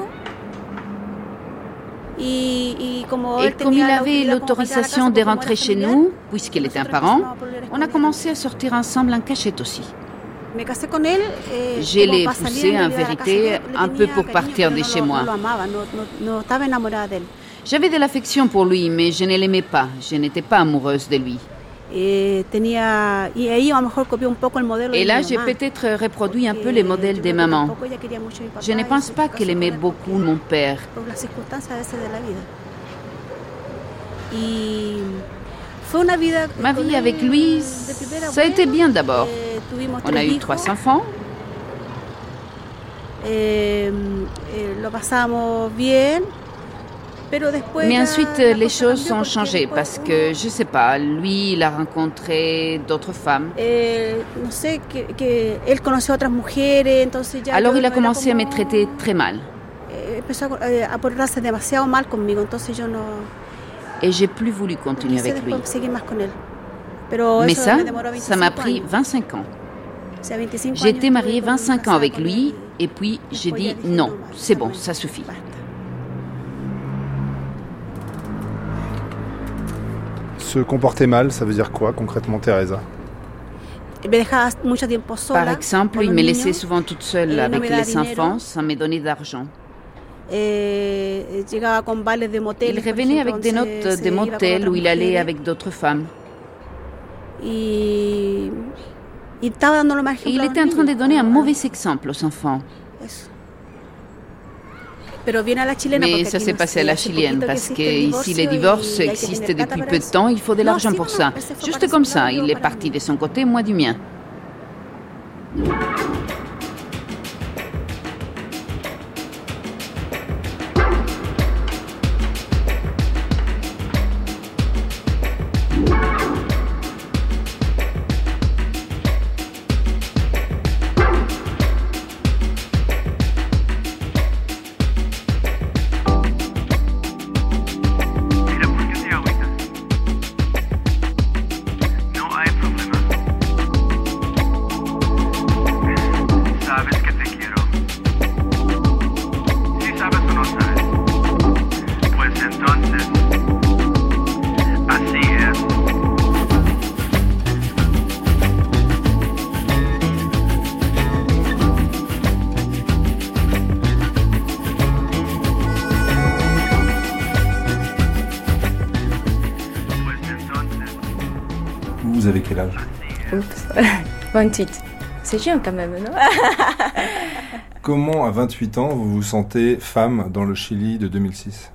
Y, y como Et él comme tenía il la avait autoridad como para entrar a la l'autorisation casa de porque como rentrer era chez familiar, nous, puisqu'il était un nosotros parent, empezábamos por leer on a escondidas. commencé à sortir ensemble en cachette aussi. Me casé con él, eh, Je como l'ai para salir poussé, en en realidad de la casa. vérité, Yo le un tenía peu pour cariño, partir pero de no chez lo- moi. no lo amaba, no, no, no estaba enamorada de él. J'avais de l'affection pour lui, mais je ne l'aimais pas. Je n'étais pas amoureuse de lui. Eh, tenía, y ahí a lo mejor copió un poco el modelo Et de là, mi j'ai mamá. peut-être reproduit un peu Porque les yo modèles creo des que mamans. tampoco ella quería mucho a mi papá Je ne y pense se pas casó qu'elle con aimait él beaucoup porque- mon père. por las circunstancias a veces de la vida. Y fue una vida Ma con vie él avec lui, de primera ça a été buena. bien d'abord. Eh, tuvimos On a tres eu hijos. trois enfants. Eh, eh, lo pasamos bien, pero después Mais ya ensuite, la les cosa choses cambió ont porque changé después parce uno, que, je sais pas, lui, il a rencontré d'autres femmes. eh, no sé, que, que él conoció a otras mujeres, entonces ya Alors yo il a no era commencé à como- me traiter très mal. eh, empezó a, eh, a portarse demasiado mal conmigo, entonces yo no Et j'ai plus voulu no continuer quise avec lui. después seguir más con él. Pero Mais eso ça, me demoró ça m'a veinticinco pris años. vingt-cinq ans. O sea, veinticinco J'ai años été estuve mariée con- vingt-cinq ans casada avec con lui él. et puis j'ai Después ya dit dije, non, basta, c'est bon, bueno, ça suffit. basta. Se comporter mal, ça veut dire quoi concrètement, Teresa? Me dejaba mucho tiempo sola. Par exemple, con il los me niños. laissait souvent toute seule Eh, no avec me daba les dinero. enfants sans me donner d'argent. Eh, llegaba con vales de motel. Il revenait avec des notes de motel où il allait avec d'autres femmes. Y, y estaba dando lo más Et il ejemplo a était los en train de niños. donner un mauvais exemple aux enfants. Eso. Pero bien a la chilena, Mais porque ça aquí s'est no passé sé, à la hace chilienne poquito que parce existe el qu'ici les divorcio divorces y hay que existent tener plata depuis para peu de eso. temps, il faut de No, l'argent sí, pour no, ça. ese fue Juste para comme su ça, lado, il yo est para parti mí. de son côté, moi du mien. Mira, ¿por qué te agüitas? No hay problema. Sabes que te quiero. Si sabes o no sabes, pues entonces, así es. Pues entonces, Vous avez quel âge? Oups. vingt-huit. C'est jeune quand même, non? Comment, à vingt-huit ans, vous vous sentez femme dans le Chili de deux mille six?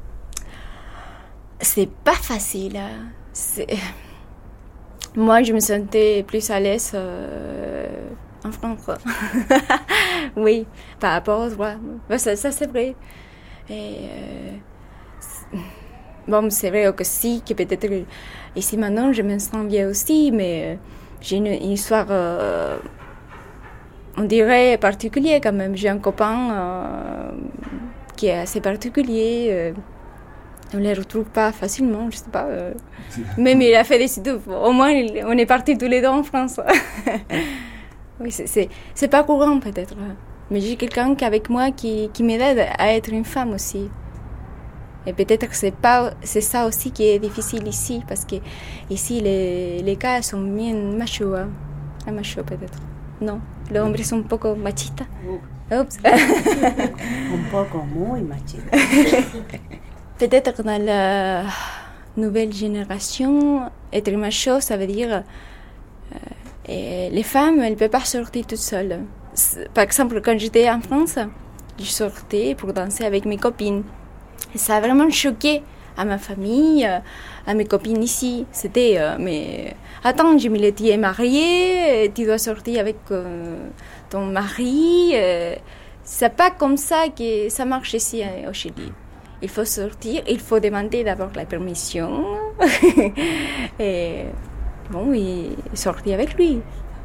C'est pas facile. hein. C'est- Moi, je me sentais plus à l'aise euh, en France. Oui, par rapport aux droits. Ben, ça, ça, c'est vrai. Et, euh, c'est- bon, c'est vrai que si, que peut-être ici maintenant, je me sens bien aussi, mais euh, j'ai une, une histoire, euh, on dirait, particulière quand même. J'ai un copain euh, qui est assez particulier. euh, on ne les retrouve pas facilement, je sais pas. euh. Même il a fait des études. Au moins, il- on est partis tous les deux en France. Oui, c'est- c'est c'est pas courant peut-être. Mais j'ai quelqu'un qui avec moi qui, qui m'aide à être une femme aussi. Et peut-être que c'est pas c'est ça aussi qui est difficile ici, parce que ici les, les cas sont bien machos. Hein. Ah, machos peut-être. Non, les hombres sont un poco machistas. Oups. Un poco, muy machista. Peut-être que dans la nouvelle génération, être macho, ça veut dire euh, et les femmes, elles ne peuvent pas sortir toutes seules. C'est- Par exemple, quand j'étais en France, je sortais pour danser avec mes copines. Et ça a vraiment choqué à ma famille, euh, à mes copines ici. C'était, euh, mais attends, Jimmy, tu es mariée, tu dois sortir avec euh, ton mari. euh, c'est pas comme ça que ça marche ici euh, au Chili. Il faut sortir, il faut demander d'abord la permission. Et bon, et sortir avec lui.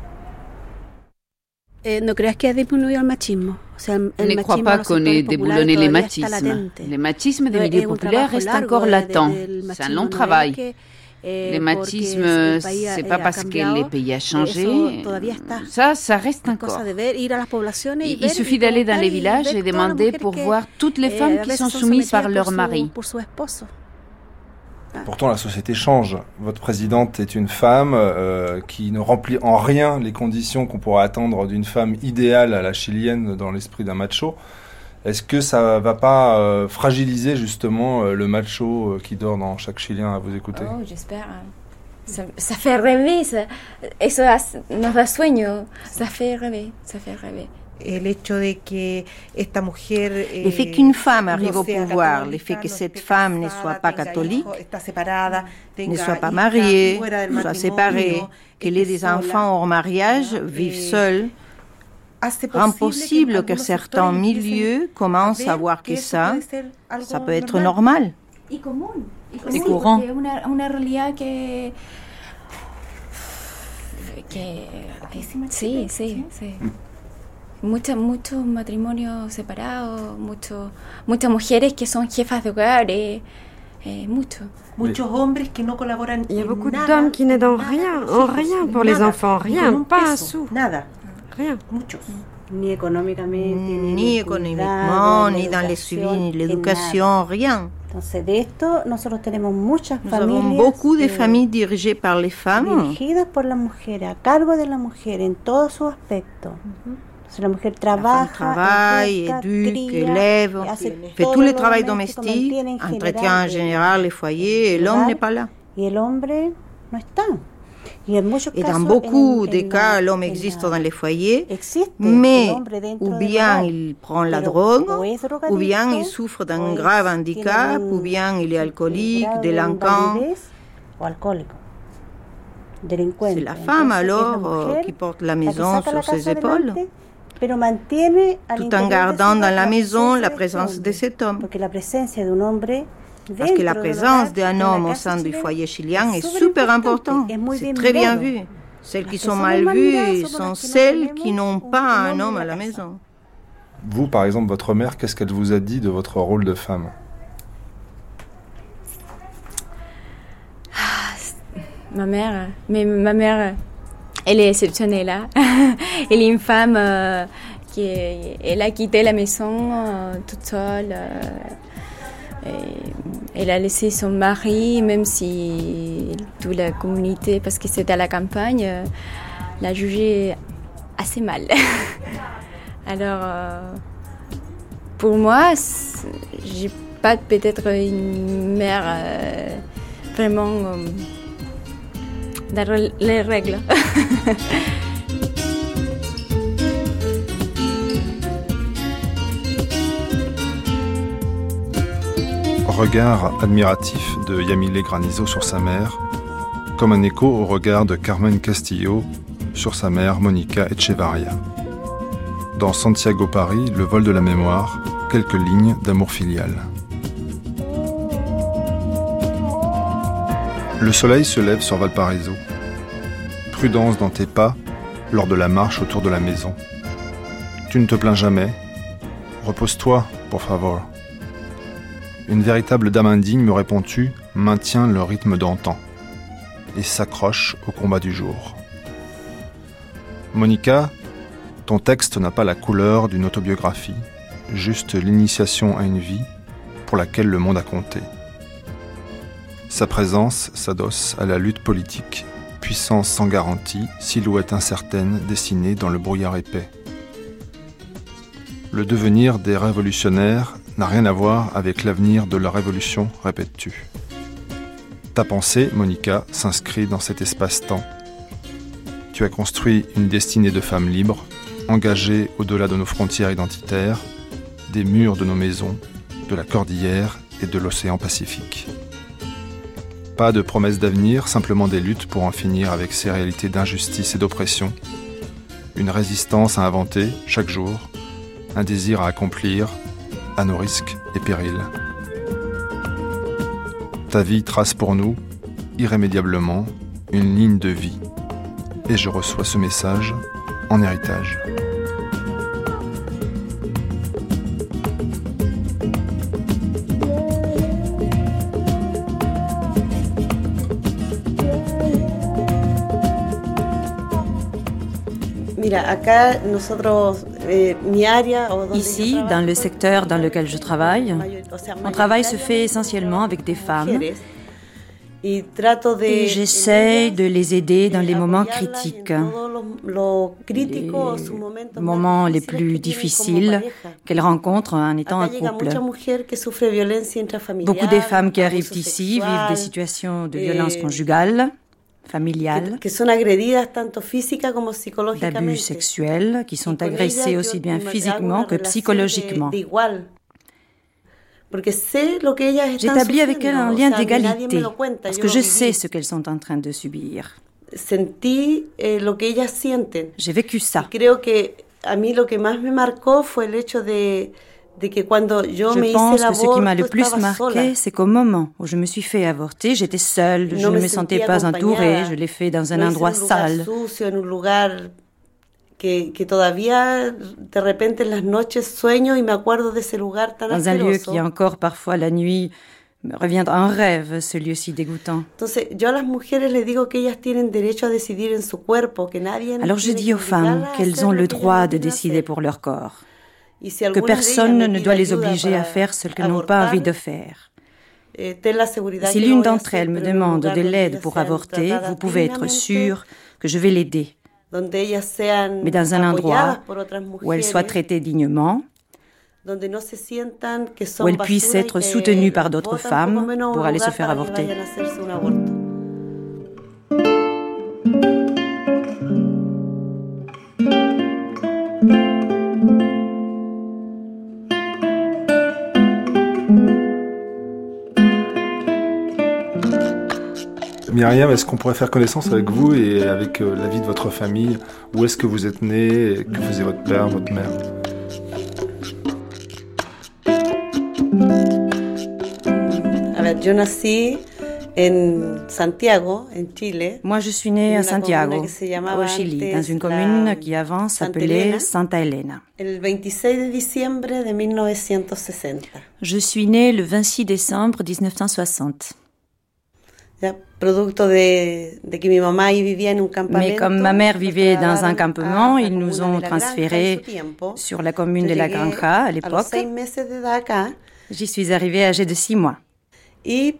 Eh, ¿No creas que ha disminuido el machismo? O sea, el Ne crois machismo pas en los qu'on ait sectores populares déboulonné les todavía está machismes. latente. Le machisme des No, milieux es un populaires trabajo reste largo encore de- de- latent. del C'est un machismo, long no es travail. que Le machisme, c'est pas parce que le pays a changé. Ça, ça reste encore. Il, il suffit d'aller dans les villages et demander pour voir toutes les femmes qui sont soumises par leur mari. Pourtant, la société change. Votre présidente est une femme euh, qui ne remplit en rien les conditions qu'on pourrait attendre d'une femme idéale à la chilienne dans l'esprit d'un macho. Est-ce que ça va pas euh, fragiliser justement euh, le macho euh, qui dort dans chaque Chilien à vous écouter? Oh, j'espère. Ça, ça fait rêver. Ça, eso nos da sueño. Ça fait rêver. Ça fait rêver. Le fait qu'une femme arrive au pouvoir, le fait que cette femme ne soit pas catholique, ne soit pas mariée, soit séparée, qu'elle ait des enfants hors mariage, vive seule, rend possible que certains milieux commencent à voir que ça, ça peut être normal. Et courant. Sí, sí, sí. Muchos mucho matrimonios separados, mucho, muchas mujeres que son jefas de hogar, eh, eh, mucho. Muchos hombres que no colaboran. Il y a beaucoup d'hommes qui n'aident en rien, en rien pour les enfants, rien, pas un sou. Nada. Rien. Muchos. Ni économiquement, ni économiquement, ni dans les suivis, ni l'éducation, rien. Entonces, de esto, nosotros tenemos muchas Nous familias. avons beaucoup de familles dirigées par les femmes. Dirigidas por las mujeres, a cargo de la mujer en todos sus aspectos. Uh-huh. La mujer trabaja, travaille, éduque, élève, fait tout le travail domestique, entretient en général les foyers, et l'homme n'est pas là. Et l'homme no está. Et dans beaucoup de cas, l'homme existe dans les foyers, mais ou bien il prend la drogue, ou bien il souffre d'un grave handicap, ou bien il est alcoolique, délinquant. C'est la femme alors euh, qui porte la maison sur ses épaules, tout en gardant dans la maison la présence de cet homme. Parce que la présence d'un homme au sein du foyer chilien est super importante. C'est très bien vu. Celles qui sont mal vues sont celles qui n'ont pas un homme à la maison. Vous, par exemple, votre mère, qu'est-ce qu'elle vous a dit de votre rôle de femme? Ma mère, mais ma mère, elle est exceptionnelle. Hein? Elle est une femme euh, qui est, elle a quitté la maison euh, toute seule. Euh, Et elle a laissé son mari, même si toute la communauté, parce que c'était à la campagne, l'a jugé assez mal. Alors, euh, pour moi, j'ai pas peut-être une mère euh, vraiment euh, dans les règles. Regard admiratif de Yamile Granizo sur sa mère, comme un écho au regard de Carmen Castillo sur sa mère Monica Echevarria. Dans Santiago Paris, le vol de la mémoire, quelques lignes d'amour filial. Le soleil se lève sur Valparaiso. Prudence dans tes pas lors de la marche autour de la maison. Tu ne te plains jamais. Repose-toi, por favor. Une véritable dame indigne, me réponds-tu, maintient le rythme d'antan et s'accroche au combat du jour. Monica, ton texte n'a pas la couleur d'une autobiographie, juste l'initiation à une vie pour laquelle le monde a compté. Sa présence s'adosse à la lutte politique, puissance sans garantie, silhouette incertaine dessinée dans le brouillard épais. Le devenir des révolutionnaires n'a rien à voir avec l'avenir de la révolution, répètes-tu. Ta pensée, Monica, s'inscrit dans cet espace-temps. Tu as construit une destinée de femme libre, engagée au-delà de nos frontières identitaires, des murs de nos maisons, de la cordillère et de l'océan Pacifique. Pas de promesses d'avenir, simplement des luttes pour en finir avec ces réalités d'injustice et d'oppression. Une résistance à inventer, chaque jour, un désir à accomplir, à nos risques et périls. Ta vie trace pour nous, irrémédiablement, une ligne de vie. Et je reçois ce message en héritage. Ici, dans le secteur dans lequel je travaille, mon travail se fait essentiellement avec des femmes et j'essaie de les aider dans les moments critiques, les moments les plus difficiles qu'elles rencontrent en étant en couple. Beaucoup des femmes qui arrivent ici vivent des situations de violence conjugale, familiale, d'abus sexuels, qui sont agressées aussi bien physiquement que psychologiquement. J'établis avec elles un lien d'égalité, parce que je sais ce qu'elles sont en train de subir. J'ai vécu ça. Je pense que ce qui m'a le plus marqué, c'est qu'au moment où je me suis fait avorter, j'étais seule, je ne me sentais pas entourée, je l'ai fait dans un endroit sale. Dans un lieu qui encore parfois la nuit me revient en rêve, ce lieu si dégoûtant. Alors je dis aux femmes qu'elles ont le droit de décider pour leur corps, que personne ne doit les obliger à faire ce qu'elles n'ont pas envie de faire. Si l'une d'entre elles me demande de l'aide pour avorter, vous pouvez être sûr que je vais l'aider, mais dans un endroit où elle soit traitée dignement, où elle puisse être soutenue par d'autres femmes pour aller se faire avorter. Myriam, est-ce qu'on pourrait faire connaissance avec vous et avec euh, la vie de votre famille? Où est-ce que vous êtes né? Que faisait votre père, votre mère? Moi, je suis née à Santiago, au Chili, dans une commune qui avant s'appelait Santa Elena. Je suis née le vingt-six décembre dix-neuf cent soixante. Mais comme ma mère vivait dans un campement, ils nous ont transférés sur la commune de la Granja à l'époque. J'y suis arrivée âgée de six mois. Et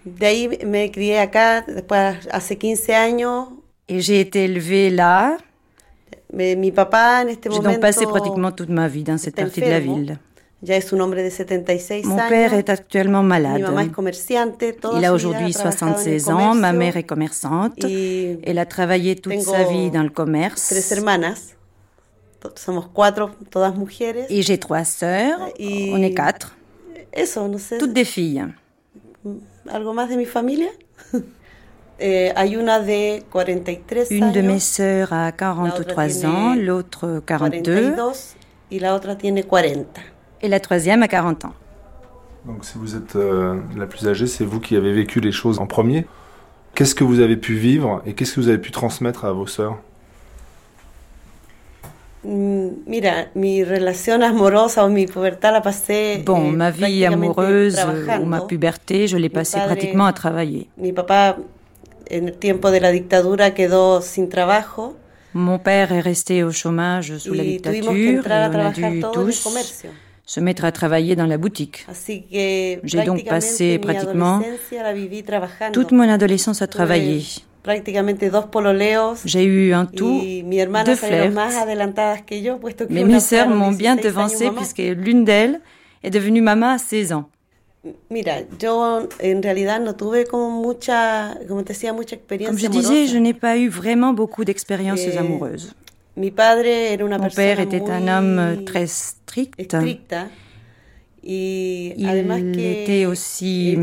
j'ai été élevée là. J'ai donc passé pratiquement toute ma vie dans cette partie de la ville. Mon père est actuellement malade. Il a aujourd'hui soixante-seize ans, ma mère est commerçante. Elle a travaillé toute sa vie dans le commerce. Et j'ai trois sœurs, on est quatre, toutes des filles. Une de mes sœurs a quarante-trois ans, l'autre quarante-deux. Et la troisième a quarante ans. Donc si vous êtes euh, la plus âgée, c'est vous qui avez vécu les choses en premier. Qu'est-ce que vous avez pu vivre et qu'est-ce que vous avez pu transmettre à vos sœurs? Bon, ma vie amoureuse ou ma puberté, je l'ai passée pratiquement à travailler. Mon père est resté au chômage sous la dictature et on a dû tous se mettre à travailler dans la boutique. J'ai donc passé pratiquement toute mon adolescence à travailler. J'ai eu en tout deux flirts, mais mes sœurs m'ont bien devancée puisque l'une d'elles est devenue maman à seize ans. Comme je disais, je n'ai pas eu vraiment beaucoup d'expériences amoureuses. Mon père était un homme très strict. Il était aussi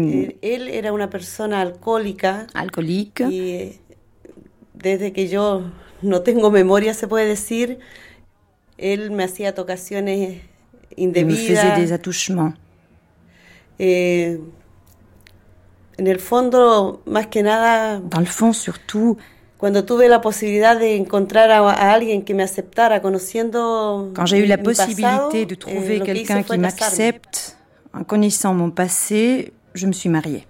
alcoolique. Desde que yo no tengo memoria, se puede decir, él me hacía tocaciones indebidas. Il me faisait des attouchements. Eh, en el fondo, más que nada, dans le fond, surtout, cuando tuve la posibilidad de encontrar a, a alguien que me aceptara, conociendo quand j'ai eu la possibilité de trouver eh, quelqu'un qui m'accepte, en connaissant mon passé, je me suis mariée.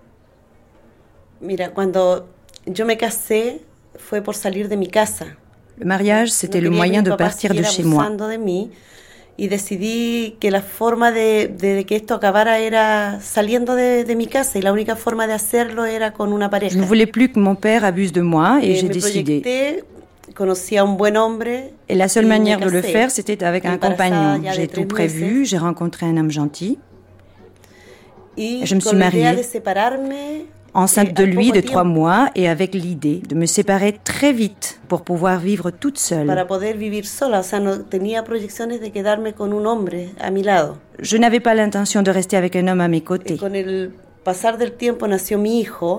Mira, cuando yo me casé, fue por salir de mi casa. Le mariage, c'était le moyen de partir de chez moi. Y decidí que la forma de, de que esto acabara era saliendo de, de mi casa y la única forma de hacerlo era con una pareja. Je ne voulais plus que mon père abuse de moi et eh, j'ai décidé. Proyecté, conocí a un buen hombre. Et la seule manière de le faire, c'était avec un compagnon. J'ai tout prévu, j'ai rencontré un homme gentil. Et je me suis mariée, enceinte de lui de trois mois et avec l'idée de me séparer très vite pour pouvoir vivre toute seule. Para poder vivir sola, o sea, no tenía proyecciones de quedarme con un hombre a mi lado. Je n'avais pas l'intention de rester avec un homme à mes côtés. Et con el pasar del tiempo nació mi hijo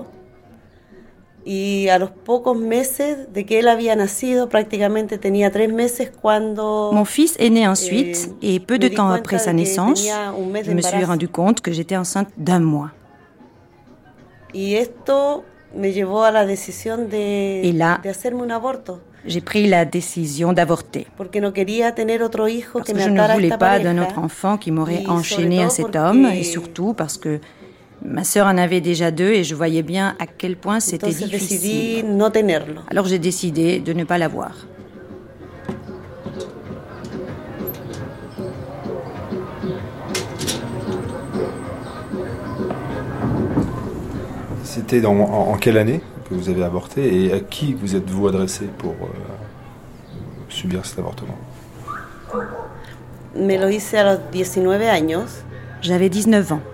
y a los pocos meses de que él había nacido, prácticamente tenía tres meses cuando... Mon fils est né ensuite eh, et peu de temps après sa naissance, je me suis rendu compte que j'étais enceinte d'un mois. Y esto me llevó a la decisión de, là, de hacerme un aborto. J'ai pris la décision d'avorter. Porque no quería tener otro hijo parce que, que je ne voulais pas d'un autre enfant qui m'aurait enchaîné à cet homme, et surtout parce que ma sœur en avait déjà deux et je voyais bien à quel point c'était difficile. No tenerlo. Alors j'ai décidé de ne pas l'avoir. C'était dans, en, en quelle année que vous avez avorté et à qui vous êtes-vous adressé pour euh, subir cet avortement? Me lo hice a los diecinueve años. J'avais dix-neuf ans.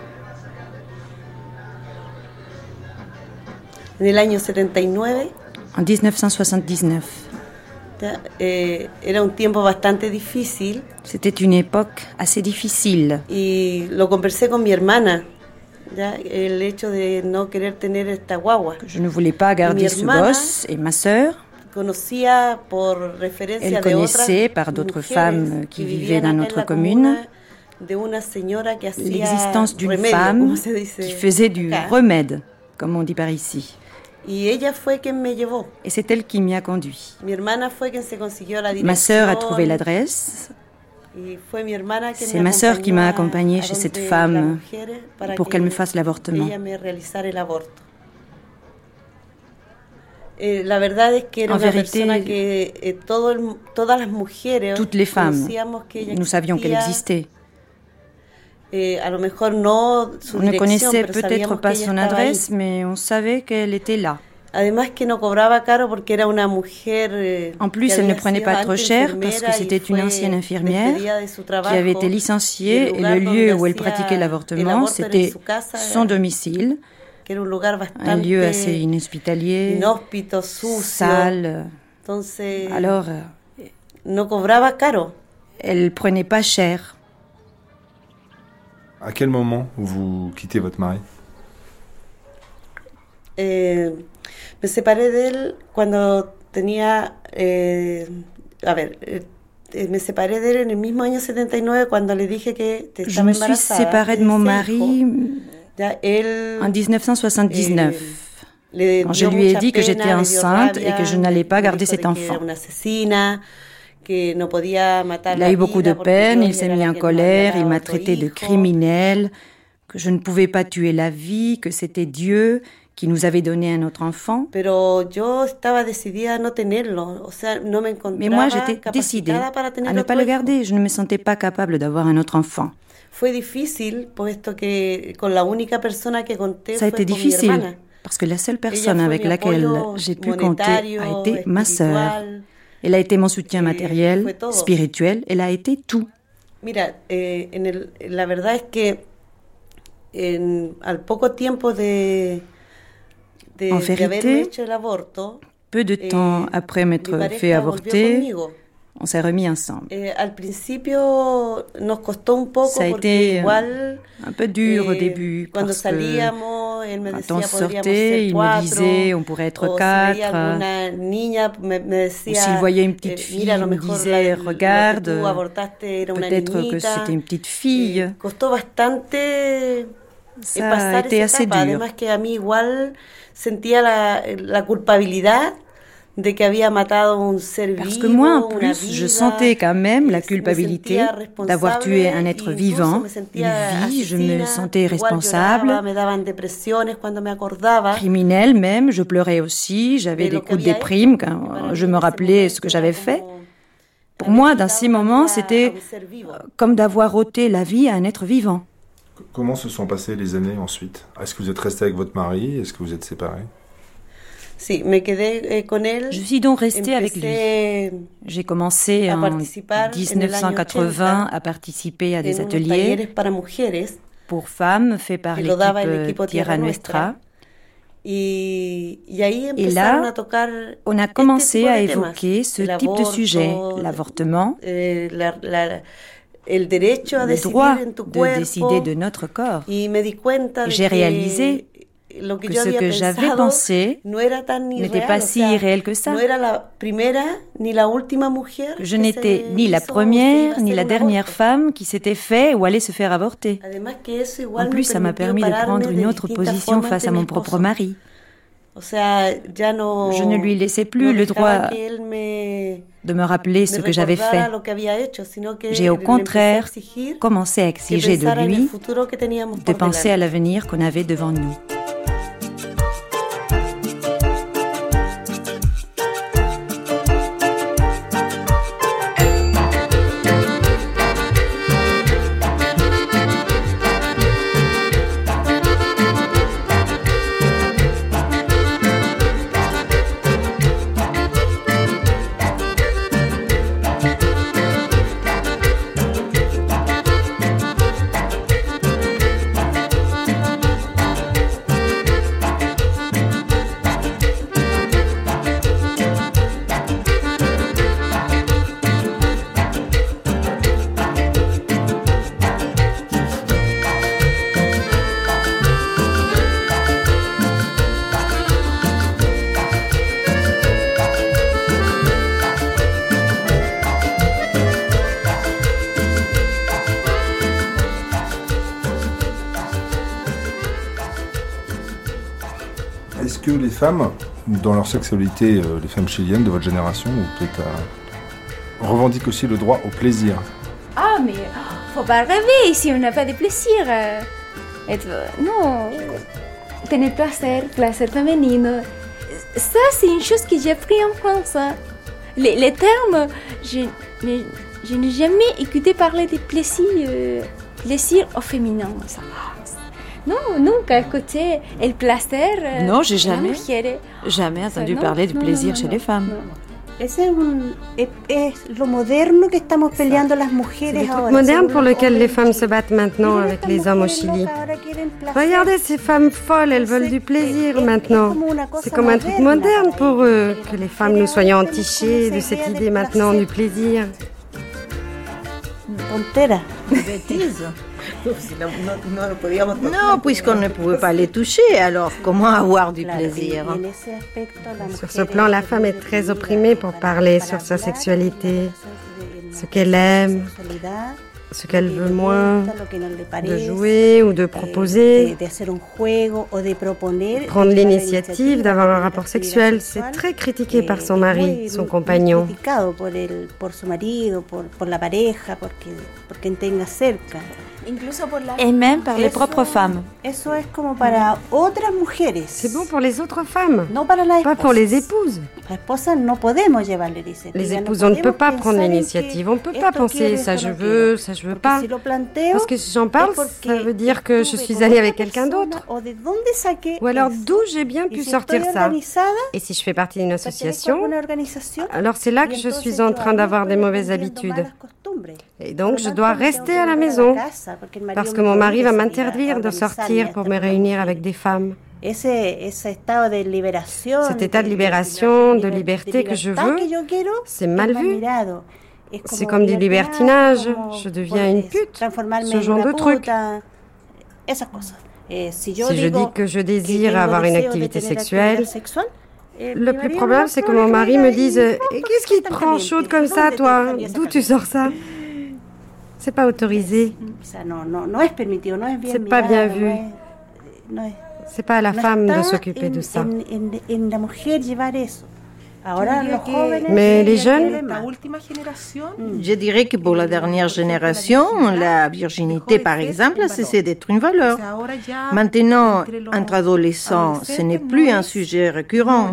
En el año setenta y nueve. En dix-neuf cent soixante-dix-neuf. Eh, era un tiempo bastante difícil. C'était une époque assez difficile. Y lo conversé con mi hermana. Ya, el hecho de no querer tener esta guagua. Je ne voulais pas garder ce gosse et ma sœur. Conocía por referencia Elle connaissait par d'autres femmes qui vivaient dans notre commune de una señora que hacía l'existence d'une remedio, femme qui faisait du remède, comme on dit par ici. Y ella fue quien me llevó. Et c'est elle qui m'y a conduit. Mi hermana fue quien se consiguió la dirección. Ma sœur a trouvé l'adresse. C'est ma sœur qui m'a accompagnée chez cette femme pour qu'elle me fasse l'avortement. En vérité, toutes les femmes, nous savions qu'elle existait. On ne connaissait peut-être pas son adresse, mais on savait qu'elle était là. En plus, elle ne prenait pas trop cher parce que c'était une ancienne infirmière qui avait été licenciée et le lieu où elle pratiquait l'avortement, c'était son domicile, un lieu assez inhospitalier, sale. Alors, elle prenait pas cher. À quel moment vous quittez votre mari? Eh... Me separé de él cuando tenía, eh, a ver, eh, me separé de él en el mismo año setenta y nueve cuando le dije que te estaba embarazada. Je me suis séparée de mon mari ya, él, en dix-neuf cent soixante-dix-neuf. Eh, quand je lui ai dit que j'étais enceinte et que je n'allais pas garder cet enfant. Il a eu beaucoup de peine, il s'est mis en colère, il m'a traité de criminelle, que je ne pouvais pas tuer la vie, que c'était Dieu qui nous avait donné un autre enfant. Mais moi, j'étais décidée à ne pas le garder. Je ne me sentais pas capable d'avoir un autre enfant. Ça a été difficile parce que la seule personne avec laquelle j'ai pu compter a été ma sœur. Elle a été mon soutien matériel, spirituel, elle a été tout. Mira, eh, en el, la verdad es que en, al poco tiempo de De, en vérité, peu de temps eh, après m'être fait avorter, on s'est remis ensemble. Eh, al principio nos costó un poco Ça a été igual, un peu dur eh, au début parce que quand on sortait, il me disait on pourrait être quatre. Niña, me, me decía, ou s'il voyait une petite fille, il me disait regarde, peut-être que c'était une petite fille. Eh, costó bastante. Ça a été assez dur. Además que a mí igual sentía la, la culpabilidad Parce que moi, en plus, je sentais quand même la culpabilité d'avoir tué un être vivant, une vie, je me sentais responsable, criminelle même, je pleurais aussi, j'avais des coups de déprime quand je me rappelais ce que j'avais fait. Pour moi, dans ces moments, c'était comme d'avoir ôté la vie à un être vivant. Comment se sont passées les années ensuite? Est-ce que vous êtes resté avec votre mari? Est-ce que vous êtes séparés? Je suis donc restée avec lui. J'ai commencé en dix-neuf cent quatre-vingts à participer à des ateliers pour femmes faits par l'équipe Tierra Nuestra. Et là, on a commencé à évoquer ce type de sujet, l'avortement, le droit de décider de notre corps. Et j'ai réalisé que ce que j'avais pensé n'était pas si irréel que ça. Que je n'étais ni la première ni la dernière femme qui s'était fait ou allait se faire avorter. En plus, ça m'a permis de prendre une autre position face à mon propre mari. Je ne lui laissais plus le droit de me rappeler ce que j'avais fait. J'ai au contraire commencé à exiger de lui de penser à l'avenir qu'on avait devant nous. Est-ce que les femmes, dans leur sexualité, euh, les femmes chiliennes de votre génération, ou peut-être euh, revendiquent aussi le droit au plaisir? Ah, mais faut pas rêver si on n'a pas de plaisir. Et, non, tener placer, placer féminin. Ça, c'est une chose que j'ai appris en France. Les, les termes, je, je, je n'ai jamais écouté parler de plaisir, euh, plaisir au féminin. Ça. Non, nunca écouté el placer. Non, j'ai jamais, jamais entendu no, parler du no, plaisir no, no, chez no, les femmes. No. C'est le moderno que estamos peleando las mujeres ahora. C'est le truc moderne pour lequel les femmes se battent maintenant avec les hommes au Chili. Regardez ces femmes folles, elles veulent du plaisir maintenant. C'est comme un truc moderne pour eux, que les femmes nous soyons entichées de cette idée maintenant du plaisir. Tontera. Bêtise. Non, puisqu'on ne pouvait pas les toucher, alors comment avoir du plaisir? Sur ce plan, la femme est très opprimée pour parler sur sa sexualité, ce qu'elle aime, ce qu'elle veut moins, de jouer ou de proposer, prendre l'initiative d'avoir un rapport sexuel. C'est très critiqué par son mari, son compagnon. Et même par les propres femmes. C'est bon pour les autres femmes, pas pour les épouses. Les épouses, on ne peut pas prendre l'initiative, on ne peut pas penser ça je veux, ça je veux pas. Parce que si j'en parle, ça veut dire que je suis allée avec quelqu'un d'autre. Ou alors d'où j'ai bien pu sortir ça. Et si je fais partie d'une association, alors c'est là que je suis en train d'avoir des mauvaises habitudes. Et donc je dois rester à la maison, parce que mon mari va m'interdire de sortir pour me réunir avec des femmes. Cet état de libération, de liberté que je veux, c'est mal vu. C'est comme du libertinage, je deviens une pute, ce genre de truc. Si je dis que je désire avoir une activité sexuelle, le plus probable, c'est que mon mari me dise « Qu'est-ce qui te prend chaude comme ça, toi? D'où tu sors ça ?» C'est pas autorisé. C'est pas bien vu. C'est pas à la femme de s'occuper de ça. Mais les jeunes, je dirais que pour la dernière génération, la virginité, par exemple, a cessé d'être une valeur. Maintenant, entre adolescents, ce n'est plus un sujet récurrent.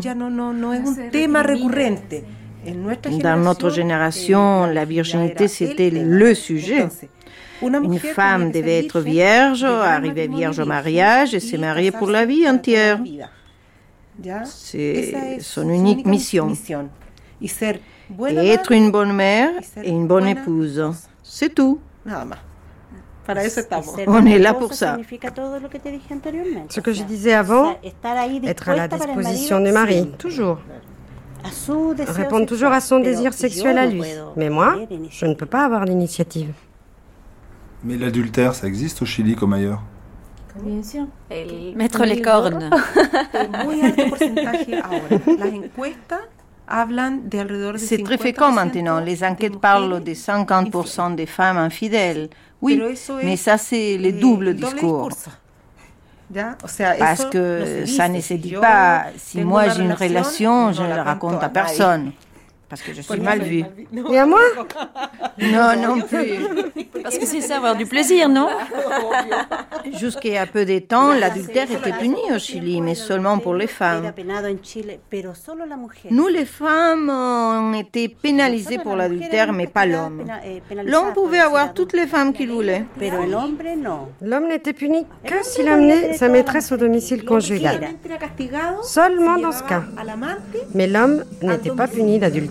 Dans notre génération, la virginité, c'était le sujet. Une femme devait être vierge, arriver vierge au mariage et se marier pour la vie entière. C'est son unique mission. Et être une bonne mère et une bonne épouse. C'est tout. On est là pour ça. Ce que je disais avant, être à la disposition du mari, toujours. Répondre toujours à son désir sexuel à lui. Mais moi, je ne peux pas avoir l'initiative. Mais l'adultère, ça existe au Chili comme ailleurs? Mettre les cornes. C'est très fréquent maintenant. Les enquêtes parlent de cinquante pour cent des femmes infidèles. Oui, mais ça, c'est le double discours. Parce que ça ne se dit pas, si moi j'ai une relation, je ne la raconte à personne. Parce que je suis mal vue. Et à moi? Non, non plus. Parce que c'est ça, avoir du plaisir, non? Jusqu'à il y a peu de temps, l'adultère était puni au Chili, mais seulement pour les femmes. Nous, les femmes, on était pénalisées pour l'adultère, mais pas l'homme. L'homme pouvait avoir toutes les femmes qu'il voulait. L'homme n'était puni que s'il amenait sa maîtresse au domicile conjugal. Seulement dans ce cas. Mais l'homme n'était pas puni d'adultère.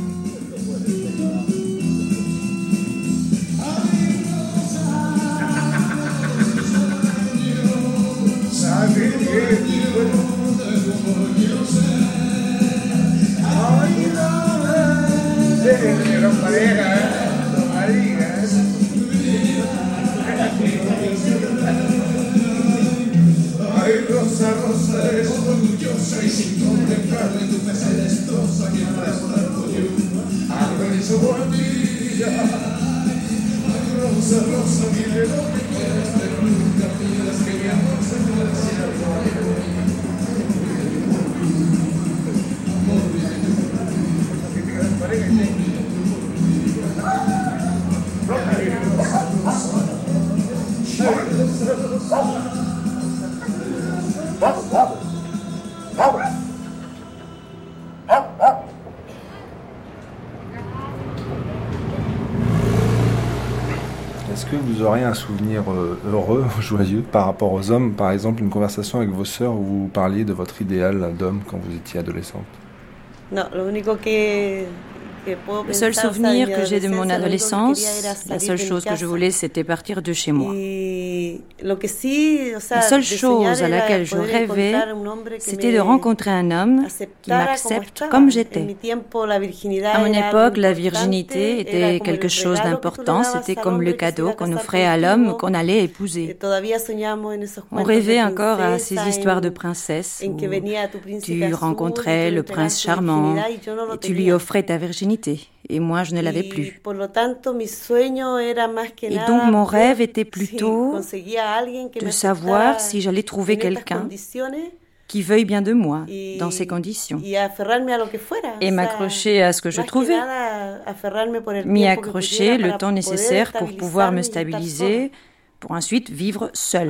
Est-ce que vous auriez un souvenir heureux, joyeux, par rapport aux hommes? Par exemple, une conversation avec vos sœurs où vous parliez de votre idéal d'homme quand vous étiez adolescente? Non, lo único que... Le seul souvenir que j'ai de mon adolescence, la seule chose que je voulais, c'était partir de chez moi. La seule chose à laquelle je rêvais, c'était de rencontrer un homme qui m'accepte comme j'étais. À mon époque, la virginité était quelque chose d'important, c'était comme le cadeau qu'on offrait à l'homme qu'on allait épouser. On rêvait encore à ces histoires de princesses où tu rencontrais le prince charmant et tu lui offrais ta virginité. Et moi, je ne l'avais plus. Et donc, mon rêve était plutôt de savoir si j'allais trouver quelqu'un qui veuille bien de moi dans ces conditions. Et m'accrocher à ce que je trouvais. M'y accrocher le temps nécessaire pour pouvoir me stabiliser, pour ensuite vivre seule.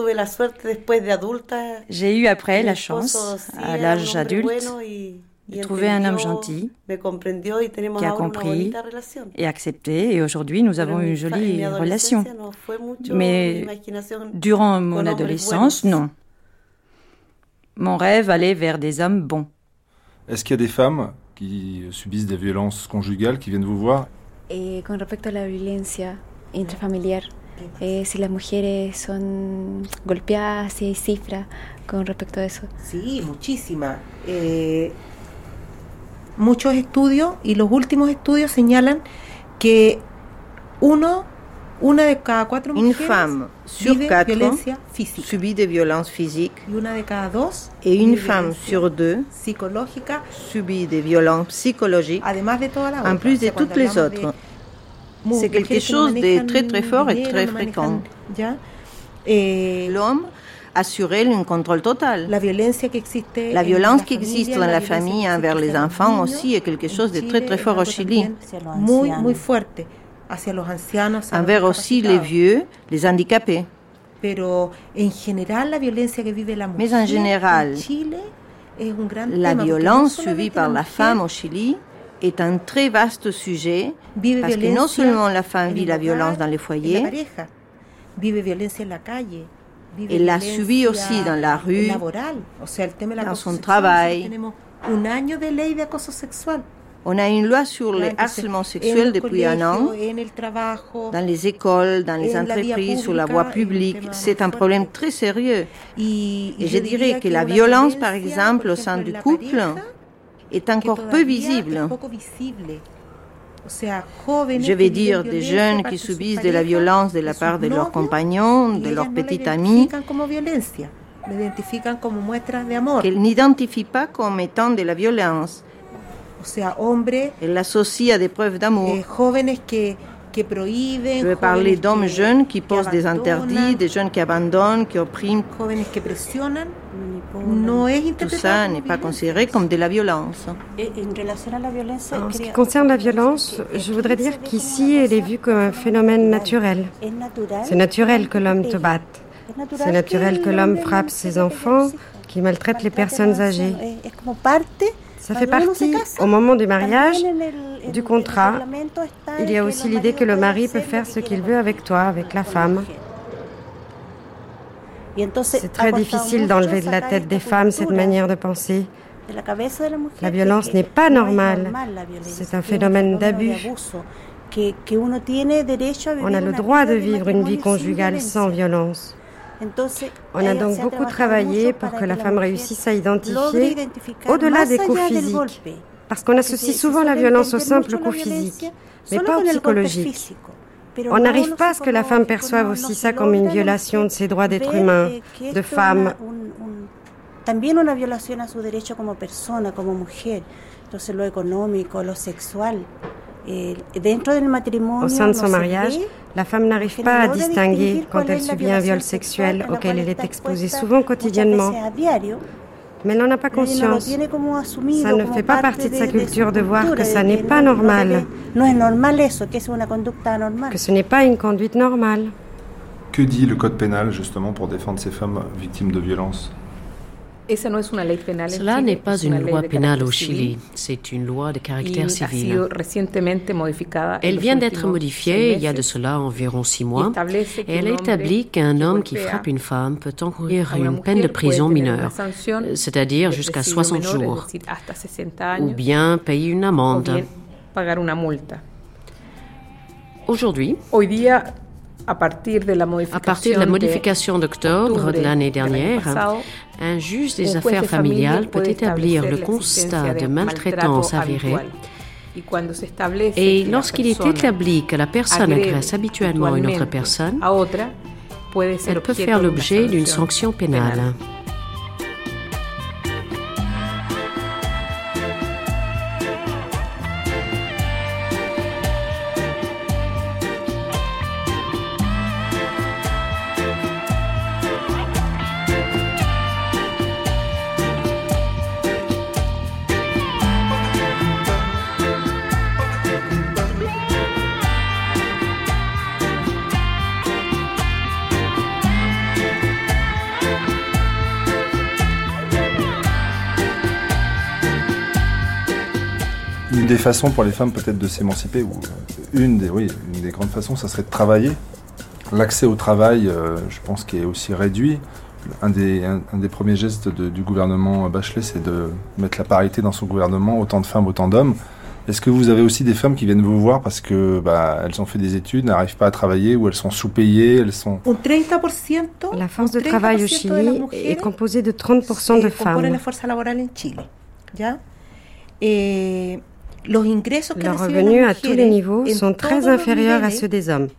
J'ai eu après la chance, à l'âge adulte, de trouver un homme gentil qui a compris et accepté. Et aujourd'hui, nous avons une jolie relation. Mais durant mon adolescence, non. Mon rêve allait vers des hommes bons. Est-ce qu'il y a des femmes qui subissent des violences conjugales qui viennent vous voir? Eh, con respecto a la violencia intrafamiliar, eh, si las mujeres son golpeadas, si hay cifras con respecto a eso. Sí, muchísimas. Eh... Muchos estudios y los últimos estudios señalan que uno, una de cada cuatro Une mujeres femme sur vive quatre violencia física subit des violences physiques y una de cada dos et une vive femme violencia sur deux psicológica, subit des violences psychologiques además de todas las en otras. plus O sea, de toutes cuando les hablamos autres. de C'est quelque mujeres que no chose de manejan très très fort et dinero, très no fréquent. manejan, ¿ya? Eh, L'homme assurer un contrôle total. La violence qui existe, la violence qui existe dans la famille envers les enfants aussi est quelque chose de très très fort au Chili. Muy, muy fuerte hacia los ancianos, envers aussi les vieux, les handicapés. Pero en general, la violencia que vive la mujer Mais en général, en Chile es un gran la tema, violence subie par la femme au Chili est un très vaste sujet parce que non seulement la femme vit la violence dans les foyers, elle la subit aussi dans la rue, dans son travail. On a une loi sur le harcèlement sexuel depuis un an, dans les écoles, dans les entreprises, sur la voie publique. C'est un problème très sérieux. Et je dirais que la violence, par exemple, au sein du couple, est encore peu visible. Je vais dire des jeunes qui subissent de la violence de la part de leurs compagnons, de leurs petits amis, qu'ils n'identifient pas comme étant de la violence. Elle l'associe à des preuves d'amour. Je vais parler d'hommes jeunes qui posent des interdits, des jeunes qui abandonnent, qui oppriment. Tout ça n'est pas considéré comme de la violence. En ce qui concerne la violence, je voudrais dire qu'ici, elle est vue comme un phénomène naturel. C'est naturel que l'homme te batte. C'est naturel que l'homme frappe ses enfants, qu'il maltraite les personnes âgées. Ça fait partie, au moment du mariage, du contrat. Il y a aussi l'idée que le mari peut faire ce qu'il veut avec toi, avec la femme. C'est très difficile d'enlever de la tête des femmes cette manière de penser. La violence n'est pas normale. C'est un phénomène d'abus. On a le droit de vivre une vie conjugale sans violence. On a donc beaucoup travaillé pour que la femme réussisse à identifier au-delà des coups physiques, parce qu'on associe souvent la violence au simple coup physique, mais pas au psychologique. On n'arrive pas à ce que la femme perçoive aussi ça comme une violation de ses droits d'être humain, de femme. También una violación a su derecho como persona, como mujer, entonces lo económico, lo sexual. Au sein de son mariage, la femme n'arrive pas à distinguer quand elle subit un viol sexuel auquel elle est exposée souvent quotidiennement. Mais elle n'en a pas conscience. Ça ne fait pas partie de sa culture de voir que ça n'est pas normal, que ce n'est pas une conduite normale. Que dit le code pénal justement pour défendre ces femmes victimes de violences ? Cela n'est pas une loi pénale au Chili, c'est une loi de caractère civil. Elle vient d'être modifiée il y a de cela environ six mois et elle établit qu'un homme qui frappe une femme peut encourir une peine de prison mineure, c'est-à-dire jusqu'à soixante jours, ou bien payer une amende. Aujourd'hui, à partir de la modification d'octobre de l'année dernière, un juge des affaires familiales peut établir le constat de maltraitance avérée. Et lorsqu'il est établi que la personne agresse habituellement une autre personne, elle peut faire l'objet d'une sanction pénale. Une des façons pour les femmes peut-être de s'émanciper, ou une des, oui, une des grandes façons, ça serait de travailler. L'accès au travail, euh, je pense, qui est aussi réduit. Un des, un, un des premiers gestes de, du gouvernement Bachelet, c'est de mettre la parité dans son gouvernement, autant de femmes, autant d'hommes. Est-ce que vous avez aussi des femmes qui viennent vous voir parce que bah, elles ont fait des études, n'arrivent pas à travailler, ou elles sont sous-payées, elles sont... La force de travail au Chili est composée de trente pour cent de femmes. Leurs revenus à tous les niveaux sont très inférieurs à ceux des hommes.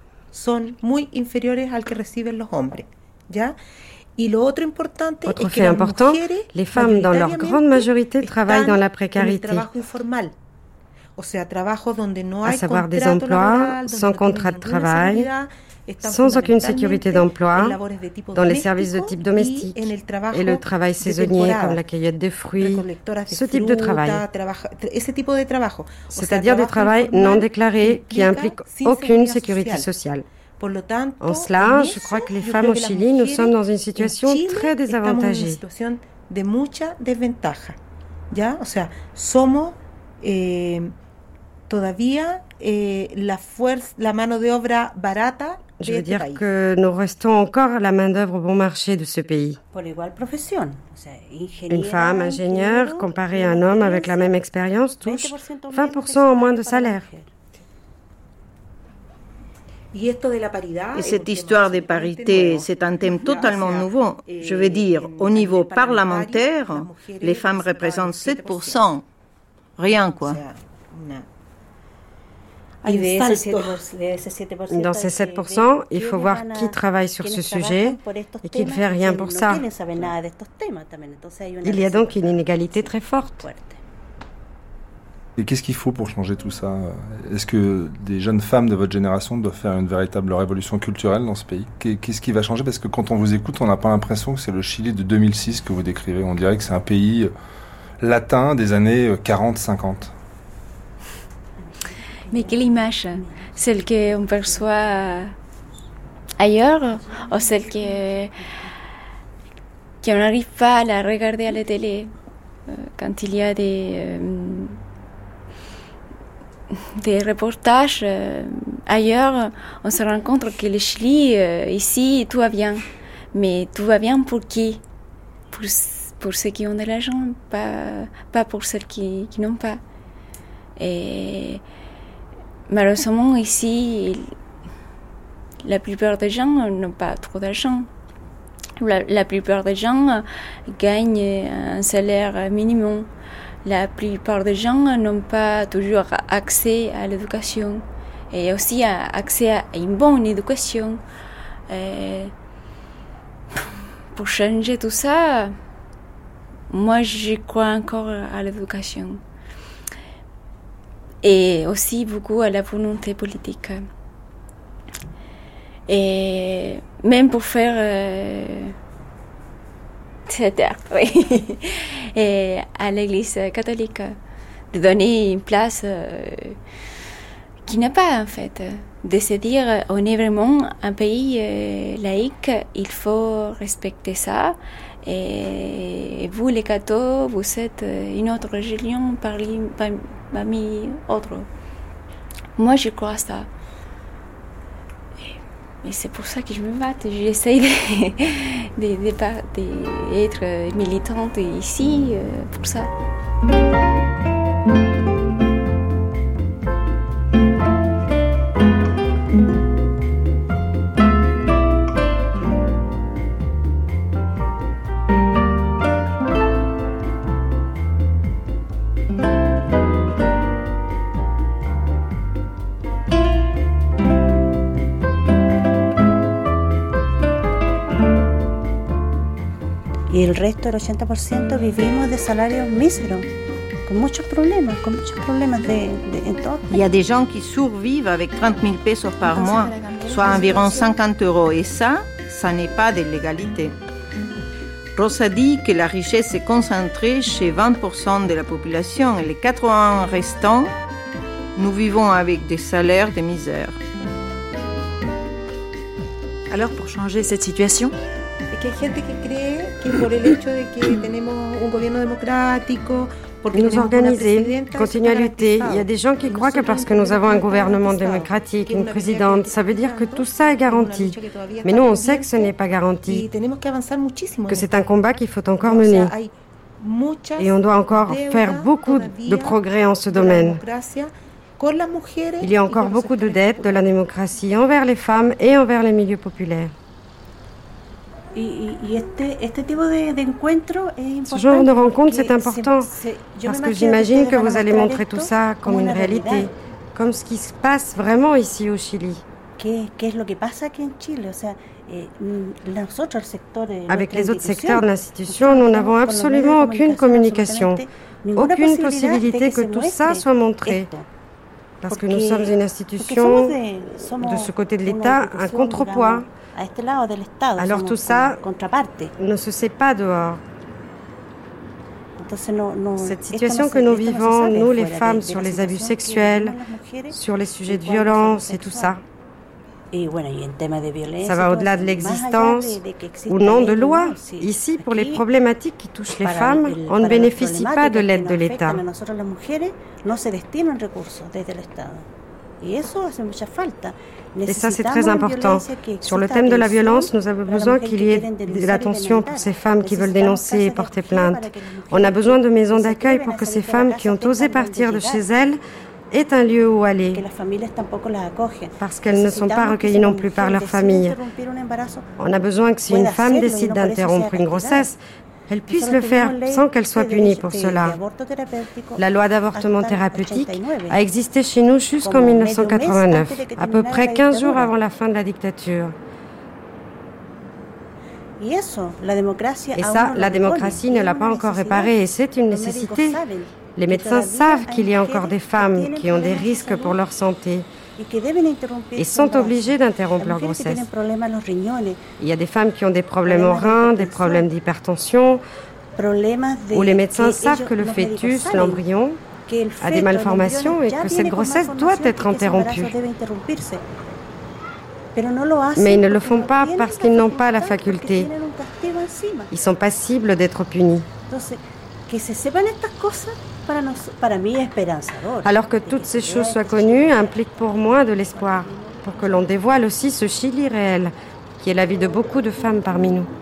Autre fait important, les femmes dans leur grande majorité travaillent dans la précarité. à savoir des emplois sans contrat de travail, sans aucune sécurité d'emploi, dans les services de type domestique et le travail saisonnier comme la cueillette des fruits, ce type de travail. C'est-à-dire du travail non déclaré qui implique aucune sécurité sociale. En cela, je crois que les femmes au Chili, nous sommes dans une situation très désavantagée. ¿Ya? O sea, somos eh, todavía eh, la fuerza, la mano de obra barata. Je veux dire que nous restons encore la main-d'œuvre bon marché de ce pays. Une femme ingénieure, comparée à un homme avec la même expérience, touche vingt pour cent en moins de salaire. Et cette histoire de parité, c'est un thème totalement nouveau. Je veux dire, au niveau parlementaire, les femmes représentent sept pour cent. Rien, quoi. Dans ces sept pour cent, il faut voir qui travaille sur ce sujet et qui ne fait rien pour ça. Il y a donc une inégalité très forte. Et qu'est-ce qu'il faut pour changer tout ça? Est-ce que des jeunes femmes de votre génération doivent faire une véritable révolution culturelle dans ce pays? Qu'est-ce qui va changer? Parce que quand on vous écoute, on n'a pas l'impression que c'est le Chili de deux mille six que vous décrivez. On dirait que c'est un pays latin des années quarante cinquante. Mais quelle image? Celle qu'on perçoit ailleurs ou celle que, qu'on n'arrive pas à la regarder à la télé quand il y a des... Euh, des reportages euh, ailleurs, on se rend compte que le Chili, euh, ici, tout va bien. Mais tout va bien pour qui? Pour, pour ceux qui ont de l'argent, pas, pas pour ceux qui, qui n'ont pas. Et malheureusement, ici, la plupart des gens n'ont pas trop d'argent. La, la plupart des gens gagnent un salaire minimum. La plupart des gens n'ont pas toujours accès à l'éducation et aussi accès à une bonne éducation. Et pour changer tout ça, moi je crois encore à l'éducation et aussi beaucoup à la volonté politique. Et même pour faire... Euh, oui. Et à l'Église catholique, de donner une place euh, qui n'a pas en fait, de se dire on est vraiment un pays euh, laïque, il faut respecter ça. Et vous les cathos, vous êtes une autre religion parmi, parmi autres. Moi je crois à ça. Et c'est pour ça que je me batte. J'essaie d'être militante ici pour ça. Y el resto, el ochenta por ciento, vivimos de salarios míseros, con muchos problemas, con muchos problemas de, de, en todo. Il y a des gens qui survivent avec trente mille pesos par mois, soit environ cinquante euros, et ça, ça n'est pas de l'égalité. Rosa dit que la richesse est concentrée chez vingt pour cent de la population et les quatre-vingts pour cent restants, nous vivons avec des salaires de misère. Alors, pour changer cette situation, nous organiser, continuer à lutter. Il y a des gens qui croient que parce que nous avons un gouvernement démocratique, une présidente, ça veut dire que tout ça est garanti. Mais nous, on sait que ce n'est pas garanti, que c'est un combat qu'il faut encore mener. Et on doit encore faire beaucoup de progrès en ce domaine. Il y a encore beaucoup de dettes de la démocratie envers les femmes et envers les milieux populaires. Ce genre de rencontre, c'est important, parce que j'imagine que vous allez montrer tout ça comme une réalité, comme ce qui se passe vraiment ici au Chili. Avec les autres secteurs de l'institution, nous n'avons absolument aucune communication, aucune possibilité que tout ça soit montré. Parce que nous sommes une institution, de ce côté de l'État, un contrepoids. Alors tout ça ne se sait pas dehors. Cette situation que nous vivons, nous les femmes, sur les abus sexuels, sur les sujets de violence et tout ça, ça va au-delà de l'existence ou non de loi. Ici, pour les problématiques qui touchent les femmes, on ne bénéficie pas de l'aide de l'État. Et ça, c'est très important. Sur le thème de la violence, nous avons besoin qu'il y ait de l'attention pour ces femmes qui veulent dénoncer et porter plainte. On a besoin de maisons d'accueil pour que ces femmes qui ont osé partir de chez elles aient un lieu où aller, parce qu'elles ne sont pas recueillies non plus par leur famille. On a besoin que si une femme décide d'interrompre une grossesse, elle puisse le faire sans qu'elle soit punie pour cela. La loi d'avortement thérapeutique a existé chez nous jusqu'en mille neuf cent quatre-vingt-neuf, à peu près quinze jours avant la fin de la dictature. Et ça, la démocratie ne l'a pas encore réparé et c'est une nécessité. Les médecins savent qu'il y a encore des femmes qui ont des risques pour leur santé et sont obligées d'interrompre leur grossesse. Il y a des femmes qui ont des problèmes aux reins, des problèmes d'hypertension, où les médecins savent que le fœtus, l'embryon, a des malformations et que cette grossesse doit être interrompue. Mais ils ne le font pas parce qu'ils n'ont pas la faculté. Ils sont passibles d'être punis. Alors que toutes ces choses soient connues implique pour moi de l'espoir, pour que l'on dévoile aussi ce Chili réel, qui est la vie de beaucoup de femmes parmi nous.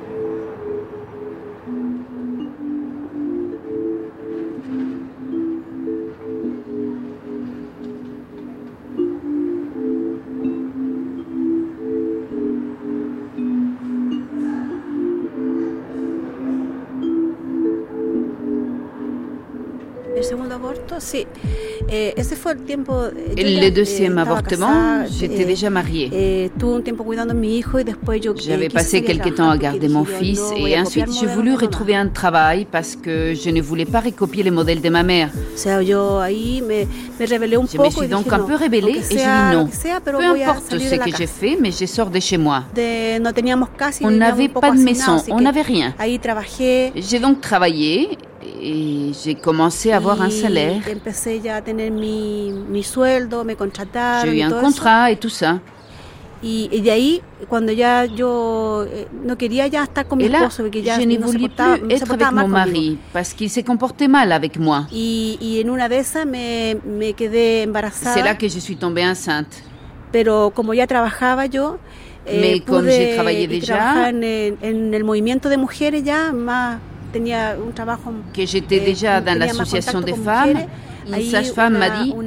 Le deuxième avortement, j'étais déjà mariée. J'avais passé quelque temps à garder mon fils et ensuite j'ai voulu retrouver un travail parce que je ne voulais pas recopier les modèles de ma mère. Je me suis donc un peu rebellée et j'ai dit non. Peu importe ce que j'ai fait, mais je sors de chez moi. On n'avait pas de maison, on n'avait rien. J'ai donc travaillé et j'ai commencé à avoir un salaire. J'ai eu un contrat et tout ça. Et là, je ne voulais plus être avec mon mari parce qu'il s'est comporté mal avec moi. C'est là que je suis tombée enceinte. Mais comme j'ai travaillé déjà, que j'étais déjà dans l'association des femmes, une sage-femme m'a dit «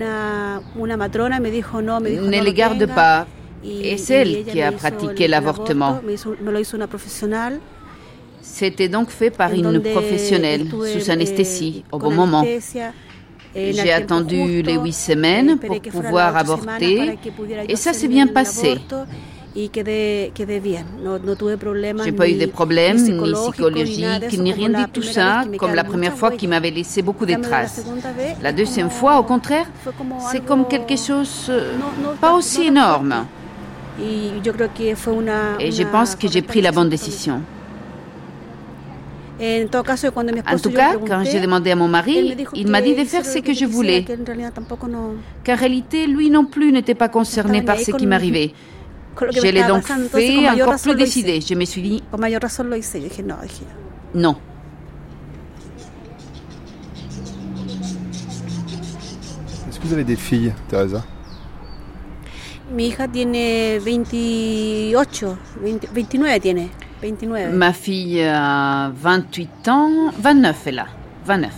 Ne les garde pas ». Et c'est elle qui a pratiqué l'avortement. C'était donc fait par une professionnelle, sous anesthésie, au bon moment. J'ai attendu les huit semaines pour pouvoir avorter et ça s'est bien passé. J'ai pas eu de problèmes, ni psychologiques, ni rien de tout ça, comme la première fois qui m'avait laissé beaucoup de traces. La deuxième fois, au contraire, c'est comme quelque chose pas aussi énorme. Et je pense que j'ai pris la bonne décision. En tout cas, quand j'ai demandé à mon mari, il m'a dit de faire ce que je voulais. Qu'en réalité, lui non plus n'était pas concerné par ce qui m'arrivait. Je l'ai donc fait encore plus décidé. Je me suis dit non. Est-ce que vous avez des filles, Teresa? Ma fille a vingt-huit ans, vingt-neuf est là, vingt-neuf.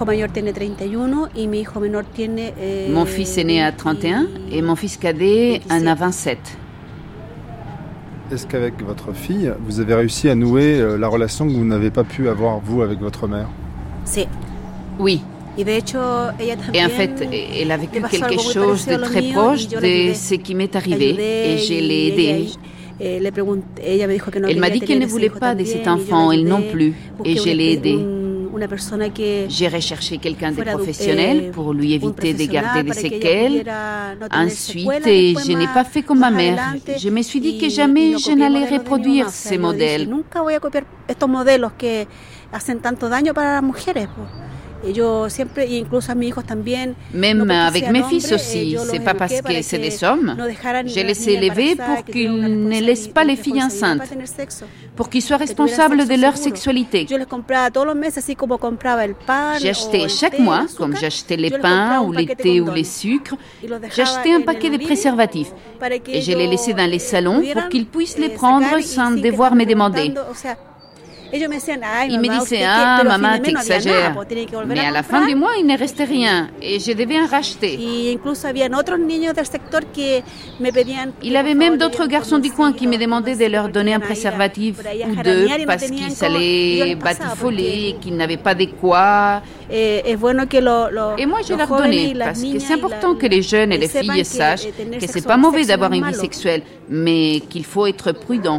Mon fils est né à trente et un et mon fils cadet en a vingt-sept. Est-ce qu'avec votre fille, vous avez réussi à nouer la relation que vous n'avez pas pu avoir, vous, avec votre mère? Oui. Et en fait, elle a vécu quelque chose de très proche de ce qui m'est arrivé et je l'ai aidée. Elle m'a dit qu'elle ne voulait pas de cet enfant, elle non plus, et je l'ai aidée. J'ai recherché quelqu'un de professionnel pour lui éviter de garder des séquelles. Ensuite, je n'ai pas fait comme ma mère. Je me suis dit que jamais je n'allais reproduire ces modèles. Même avec mes fils aussi, c'est pas parce que c'est des hommes. Je les ai élevés pour qu'ils ne laissent pas les filles enceintes, pour qu'ils soient responsables de leur sexualité. J'achetais chaque mois, comme j'achetais les pains ou les thés ou les sucres, j'achetais un paquet de préservatifs et je les laissais dans les salons pour qu'ils puissent les prendre sans devoir me demander. Ils me disaient, ah, maman, t'exagères. Mais à la fin du mois, il ne restait rien et je devais en racheter. Il y avait même d'autres garçons du coin qui me demandaient de leur donner un préservatif ou deux parce qu'ils allaient batifoler et qu'ils n'avaient pas de quoi. Et moi, je leur donnais parce que c'est important que les jeunes et les filles sachent que c'est pas mauvais d'avoir une vie sexuelle, mais qu'il faut être prudent.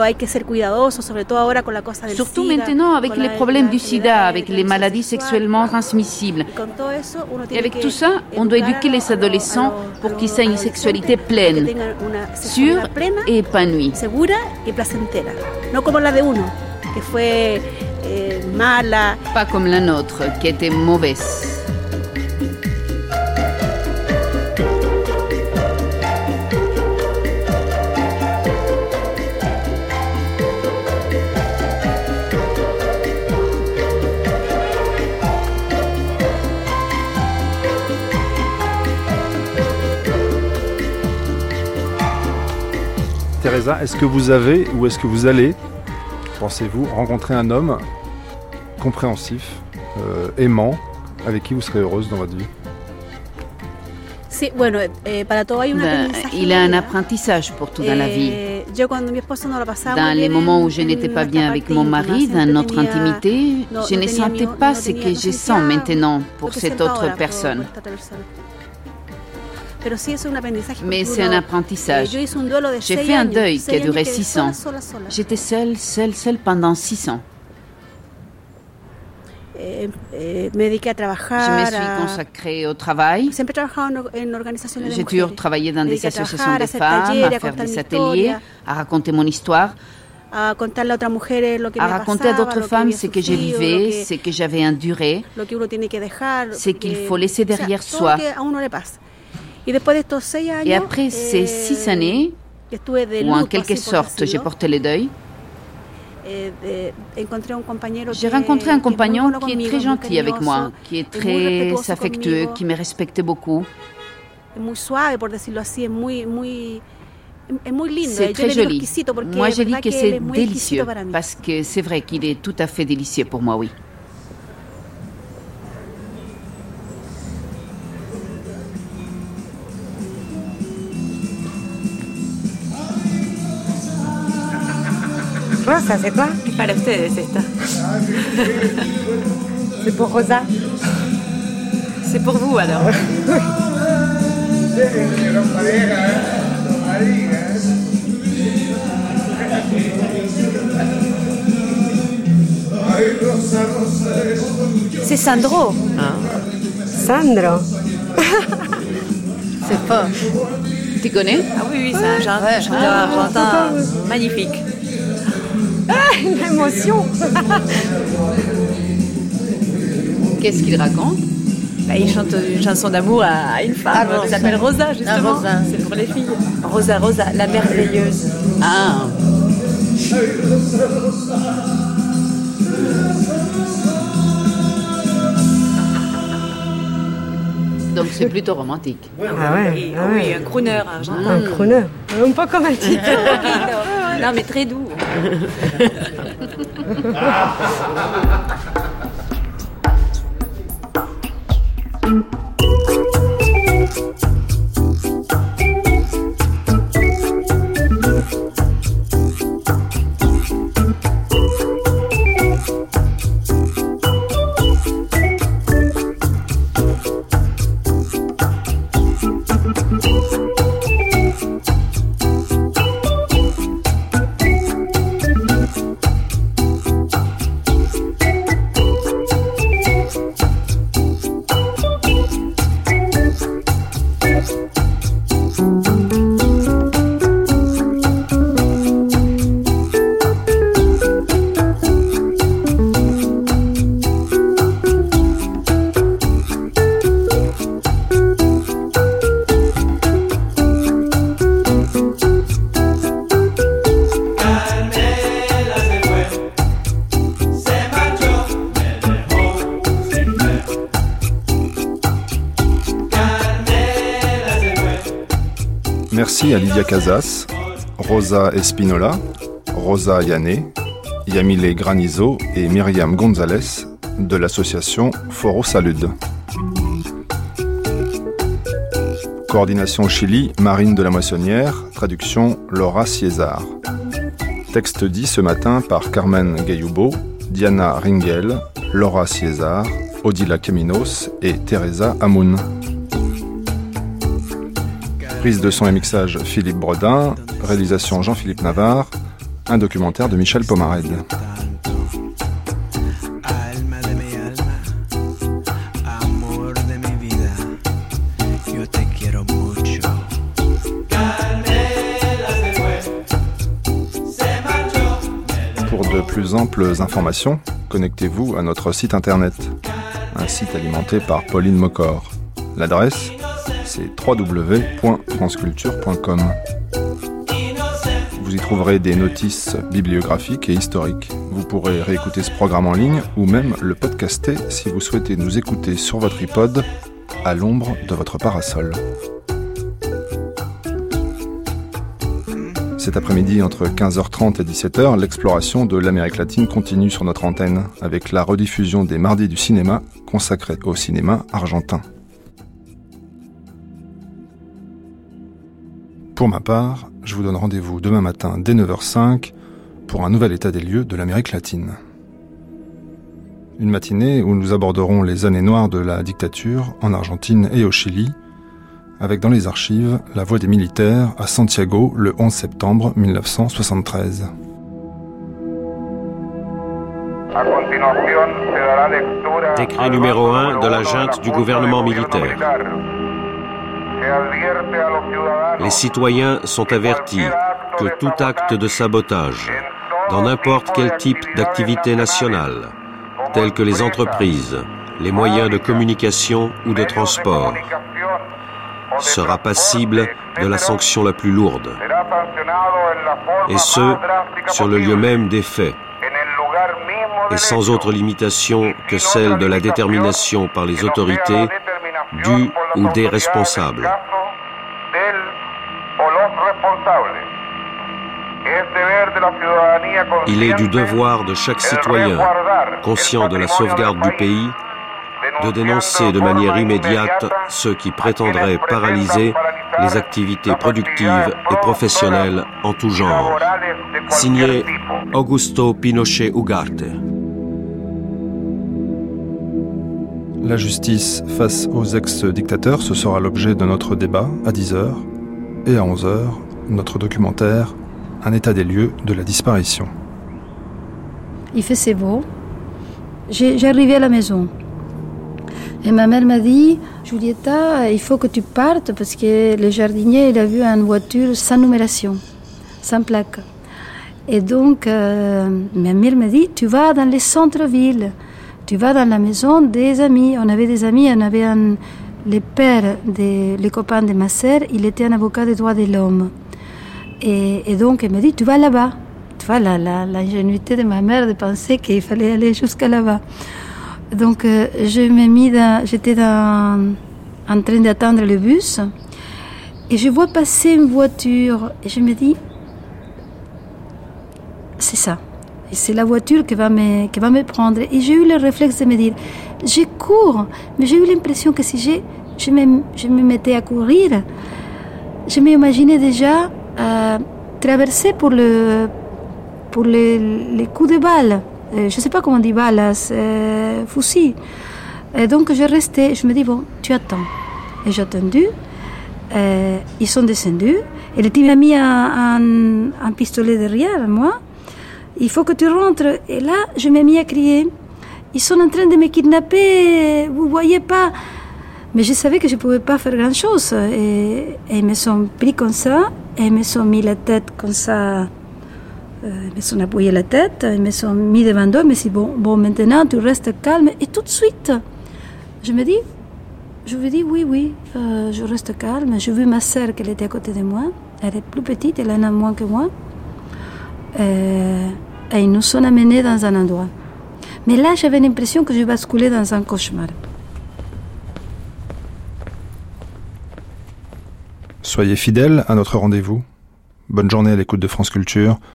Surtout maintenant avec les problèmes du sida, avec les maladies sexuellement transmissibles. Et avec tout ça, on doit éduquer les adolescents pour qu'ils aient une sexualité pleine, sûre et épanouie. Pas comme la nôtre, qui était mauvaise. Teresa, est-ce que vous avez ou est-ce que vous allez, pensez-vous, rencontrer un homme compréhensif, euh, aimant, avec qui vous serez heureuse dans votre vie? Ben, il y a un apprentissage pour tout dans la vie. Dans les moments où je n'étais pas bien avec mon mari, dans notre intimité, je ne sentais pas ce que je sens maintenant pour cette autre personne. Mais c'est un apprentissage. J'ai fait un deuil qui a duré six ans. J'étais seule, seule, seule pendant six ans. Je me suis consacrée au travail. J'ai toujours travaillé dans des associations de femmes, à faire des ateliers, à raconter mon histoire, à raconter à d'autres femmes ce que je vivais, ce que j'avais enduré, ce qu'il faut laisser derrière soi. Et après ces six années, où en quelque sorte j'ai porté le deuil, j'ai rencontré un compagnon qui est très gentil avec moi, qui est très affectueux, qui me respecte beaucoup. C'est très joli. Moi, je dis que c'est délicieux, parce que c'est vrai qu'il est tout à fait délicieux pour moi, oui. Rosa, c'est quoi? Para ustedes esta. C'est pour Rosa? C'est pour vous alors. C'est Sandro. Ah. Sandro. C'est fort. Tu connais? Ah oui, oui, c'est un chanteur, chanteur argentin magnifique. Ah, une émotion. Qu'est-ce qu'il raconte? Bah, il chante une chanson d'amour à une femme ah, qui s'appelle Rosa, justement. Ah, Rosa. C'est pour les filles. Rosa, Rosa, la merveilleuse. Ah. Donc c'est plutôt romantique. Ah ouais, oui, ah oui ouais. Un crooner argentin. Un crooner. Un peu comme un type. Non, mais très doux. aussi à Lydia Casas, Rosa Espinola, Rosa Yané, Yamile Granizo et Myriam González de l'association Foro Salud. Coordination Chili, Marine de la Moissonnière, traduction Laura Ciezar. Texte dit ce matin par Carmen Gayubo, Diana Ringel, Laura Ciezar, Odila Caminos et Teresa Amoun. Prise de son et mixage Philippe Bredin, réalisation Jean-Philippe Navarre, un documentaire de Michel Pomarède. Pour de plus amples informations, connectez-vous à notre site internet, un site alimenté par Pauline Mocor. L'adresse, c'est w w w point france culture point com. Vous y trouverez des notices bibliographiques et historiques. Vous pourrez réécouter ce programme en ligne ou même le podcaster si vous souhaitez nous écouter sur votre iPod à l'ombre de votre parasol. Cet après-midi, entre quinze heures trente et dix-sept heures, l'exploration de l'Amérique latine continue sur notre antenne avec la rediffusion des Mardis du cinéma consacrés au cinéma argentin. Pour ma part, je vous donne rendez-vous demain matin dès neuf heures cinq pour un nouvel état des lieux de l'Amérique latine. Une matinée où nous aborderons les années noires de la dictature en Argentine et au Chili, avec dans les archives la voix des militaires à Santiago le onze septembre mille neuf cent soixante-treize. Décret numéro un de la junte du gouvernement militaire. Les citoyens sont avertis que tout acte de sabotage, dans n'importe quel type d'activité nationale, tels que les entreprises, les moyens de communication ou de transport, sera passible de la sanction la plus lourde, et ce, sur le lieu même des faits, et sans autre limitation que celle de la détermination par les autorités du ou des responsables. Il est du devoir de chaque citoyen, conscient de la sauvegarde du pays, de dénoncer de manière immédiate ceux qui prétendraient paralyser les activités productives et professionnelles en tout genre. Signé Augusto Pinochet Ugarte. La justice face aux ex-dictateurs, ce sera l'objet de notre débat à dix heures et à onze heures, notre documentaire Un état des lieux de la disparition. Il faisait beau. J'ai, j'arrivais à la maison. Et ma mère m'a dit, Julieta, il faut que tu partes parce que le jardinier, il a vu une voiture sans numération, sans plaque. Et donc, euh, ma mère m'a dit, tu vas dans les centres-villes, tu vas dans la maison des amis. On avait des amis, on avait un, le père, de, le copain de ma sœur, il était un avocat des droits de l'homme. Et, et donc, elle m'a dit, tu vas là-bas. Tu vois, la, la, l'ingénuité de ma mère de penser qu'il fallait aller jusqu'à là-bas. Donc, euh, je me mis dans, j'étais dans, en train d'attendre le bus et je vois passer une voiture et je me dis, c'est ça. Et c'est la voiture qui va, me, qui va me prendre. Et j'ai eu le réflexe de me dire, je cours. Mais j'ai eu l'impression que si je, je, me, je me mettais à courir, je m'imaginais déjà euh, traverser pour, le, pour les, les coups de balle. Euh, je ne sais pas comment on dit balle, c'est fusil. Et donc je restais, je me dis, bon, tu attends. Et j'ai attendu. Euh, ils sont descendus. Et le type m'a mis un, un, un pistolet derrière moi. Il faut que tu rentres. Et là, je m'ai mis à crier. Ils sont en train de me kidnapper, vous ne voyez pas. Mais je savais que je ne pouvais pas faire grand-chose. Et, et ils me sont pris comme ça. Et ils me sont mis la tête comme ça. Euh, ils me sont appuyé la tête. Ils me sont mis devant eux. Ils me sont dit, bon, bon, maintenant, tu restes calme. Et tout de suite, je me dis, je lui dis, oui, oui, euh, je reste calme. J'ai vu ma sœur qui était à côté de moi. Elle est plus petite, elle en a moins que moi. Euh, et ils nous sont amenés dans un endroit. Mais là, j'avais l'impression que je basculais dans un cauchemar. Soyez fidèles à notre rendez-vous. Bonne journée à l'écoute de France Culture.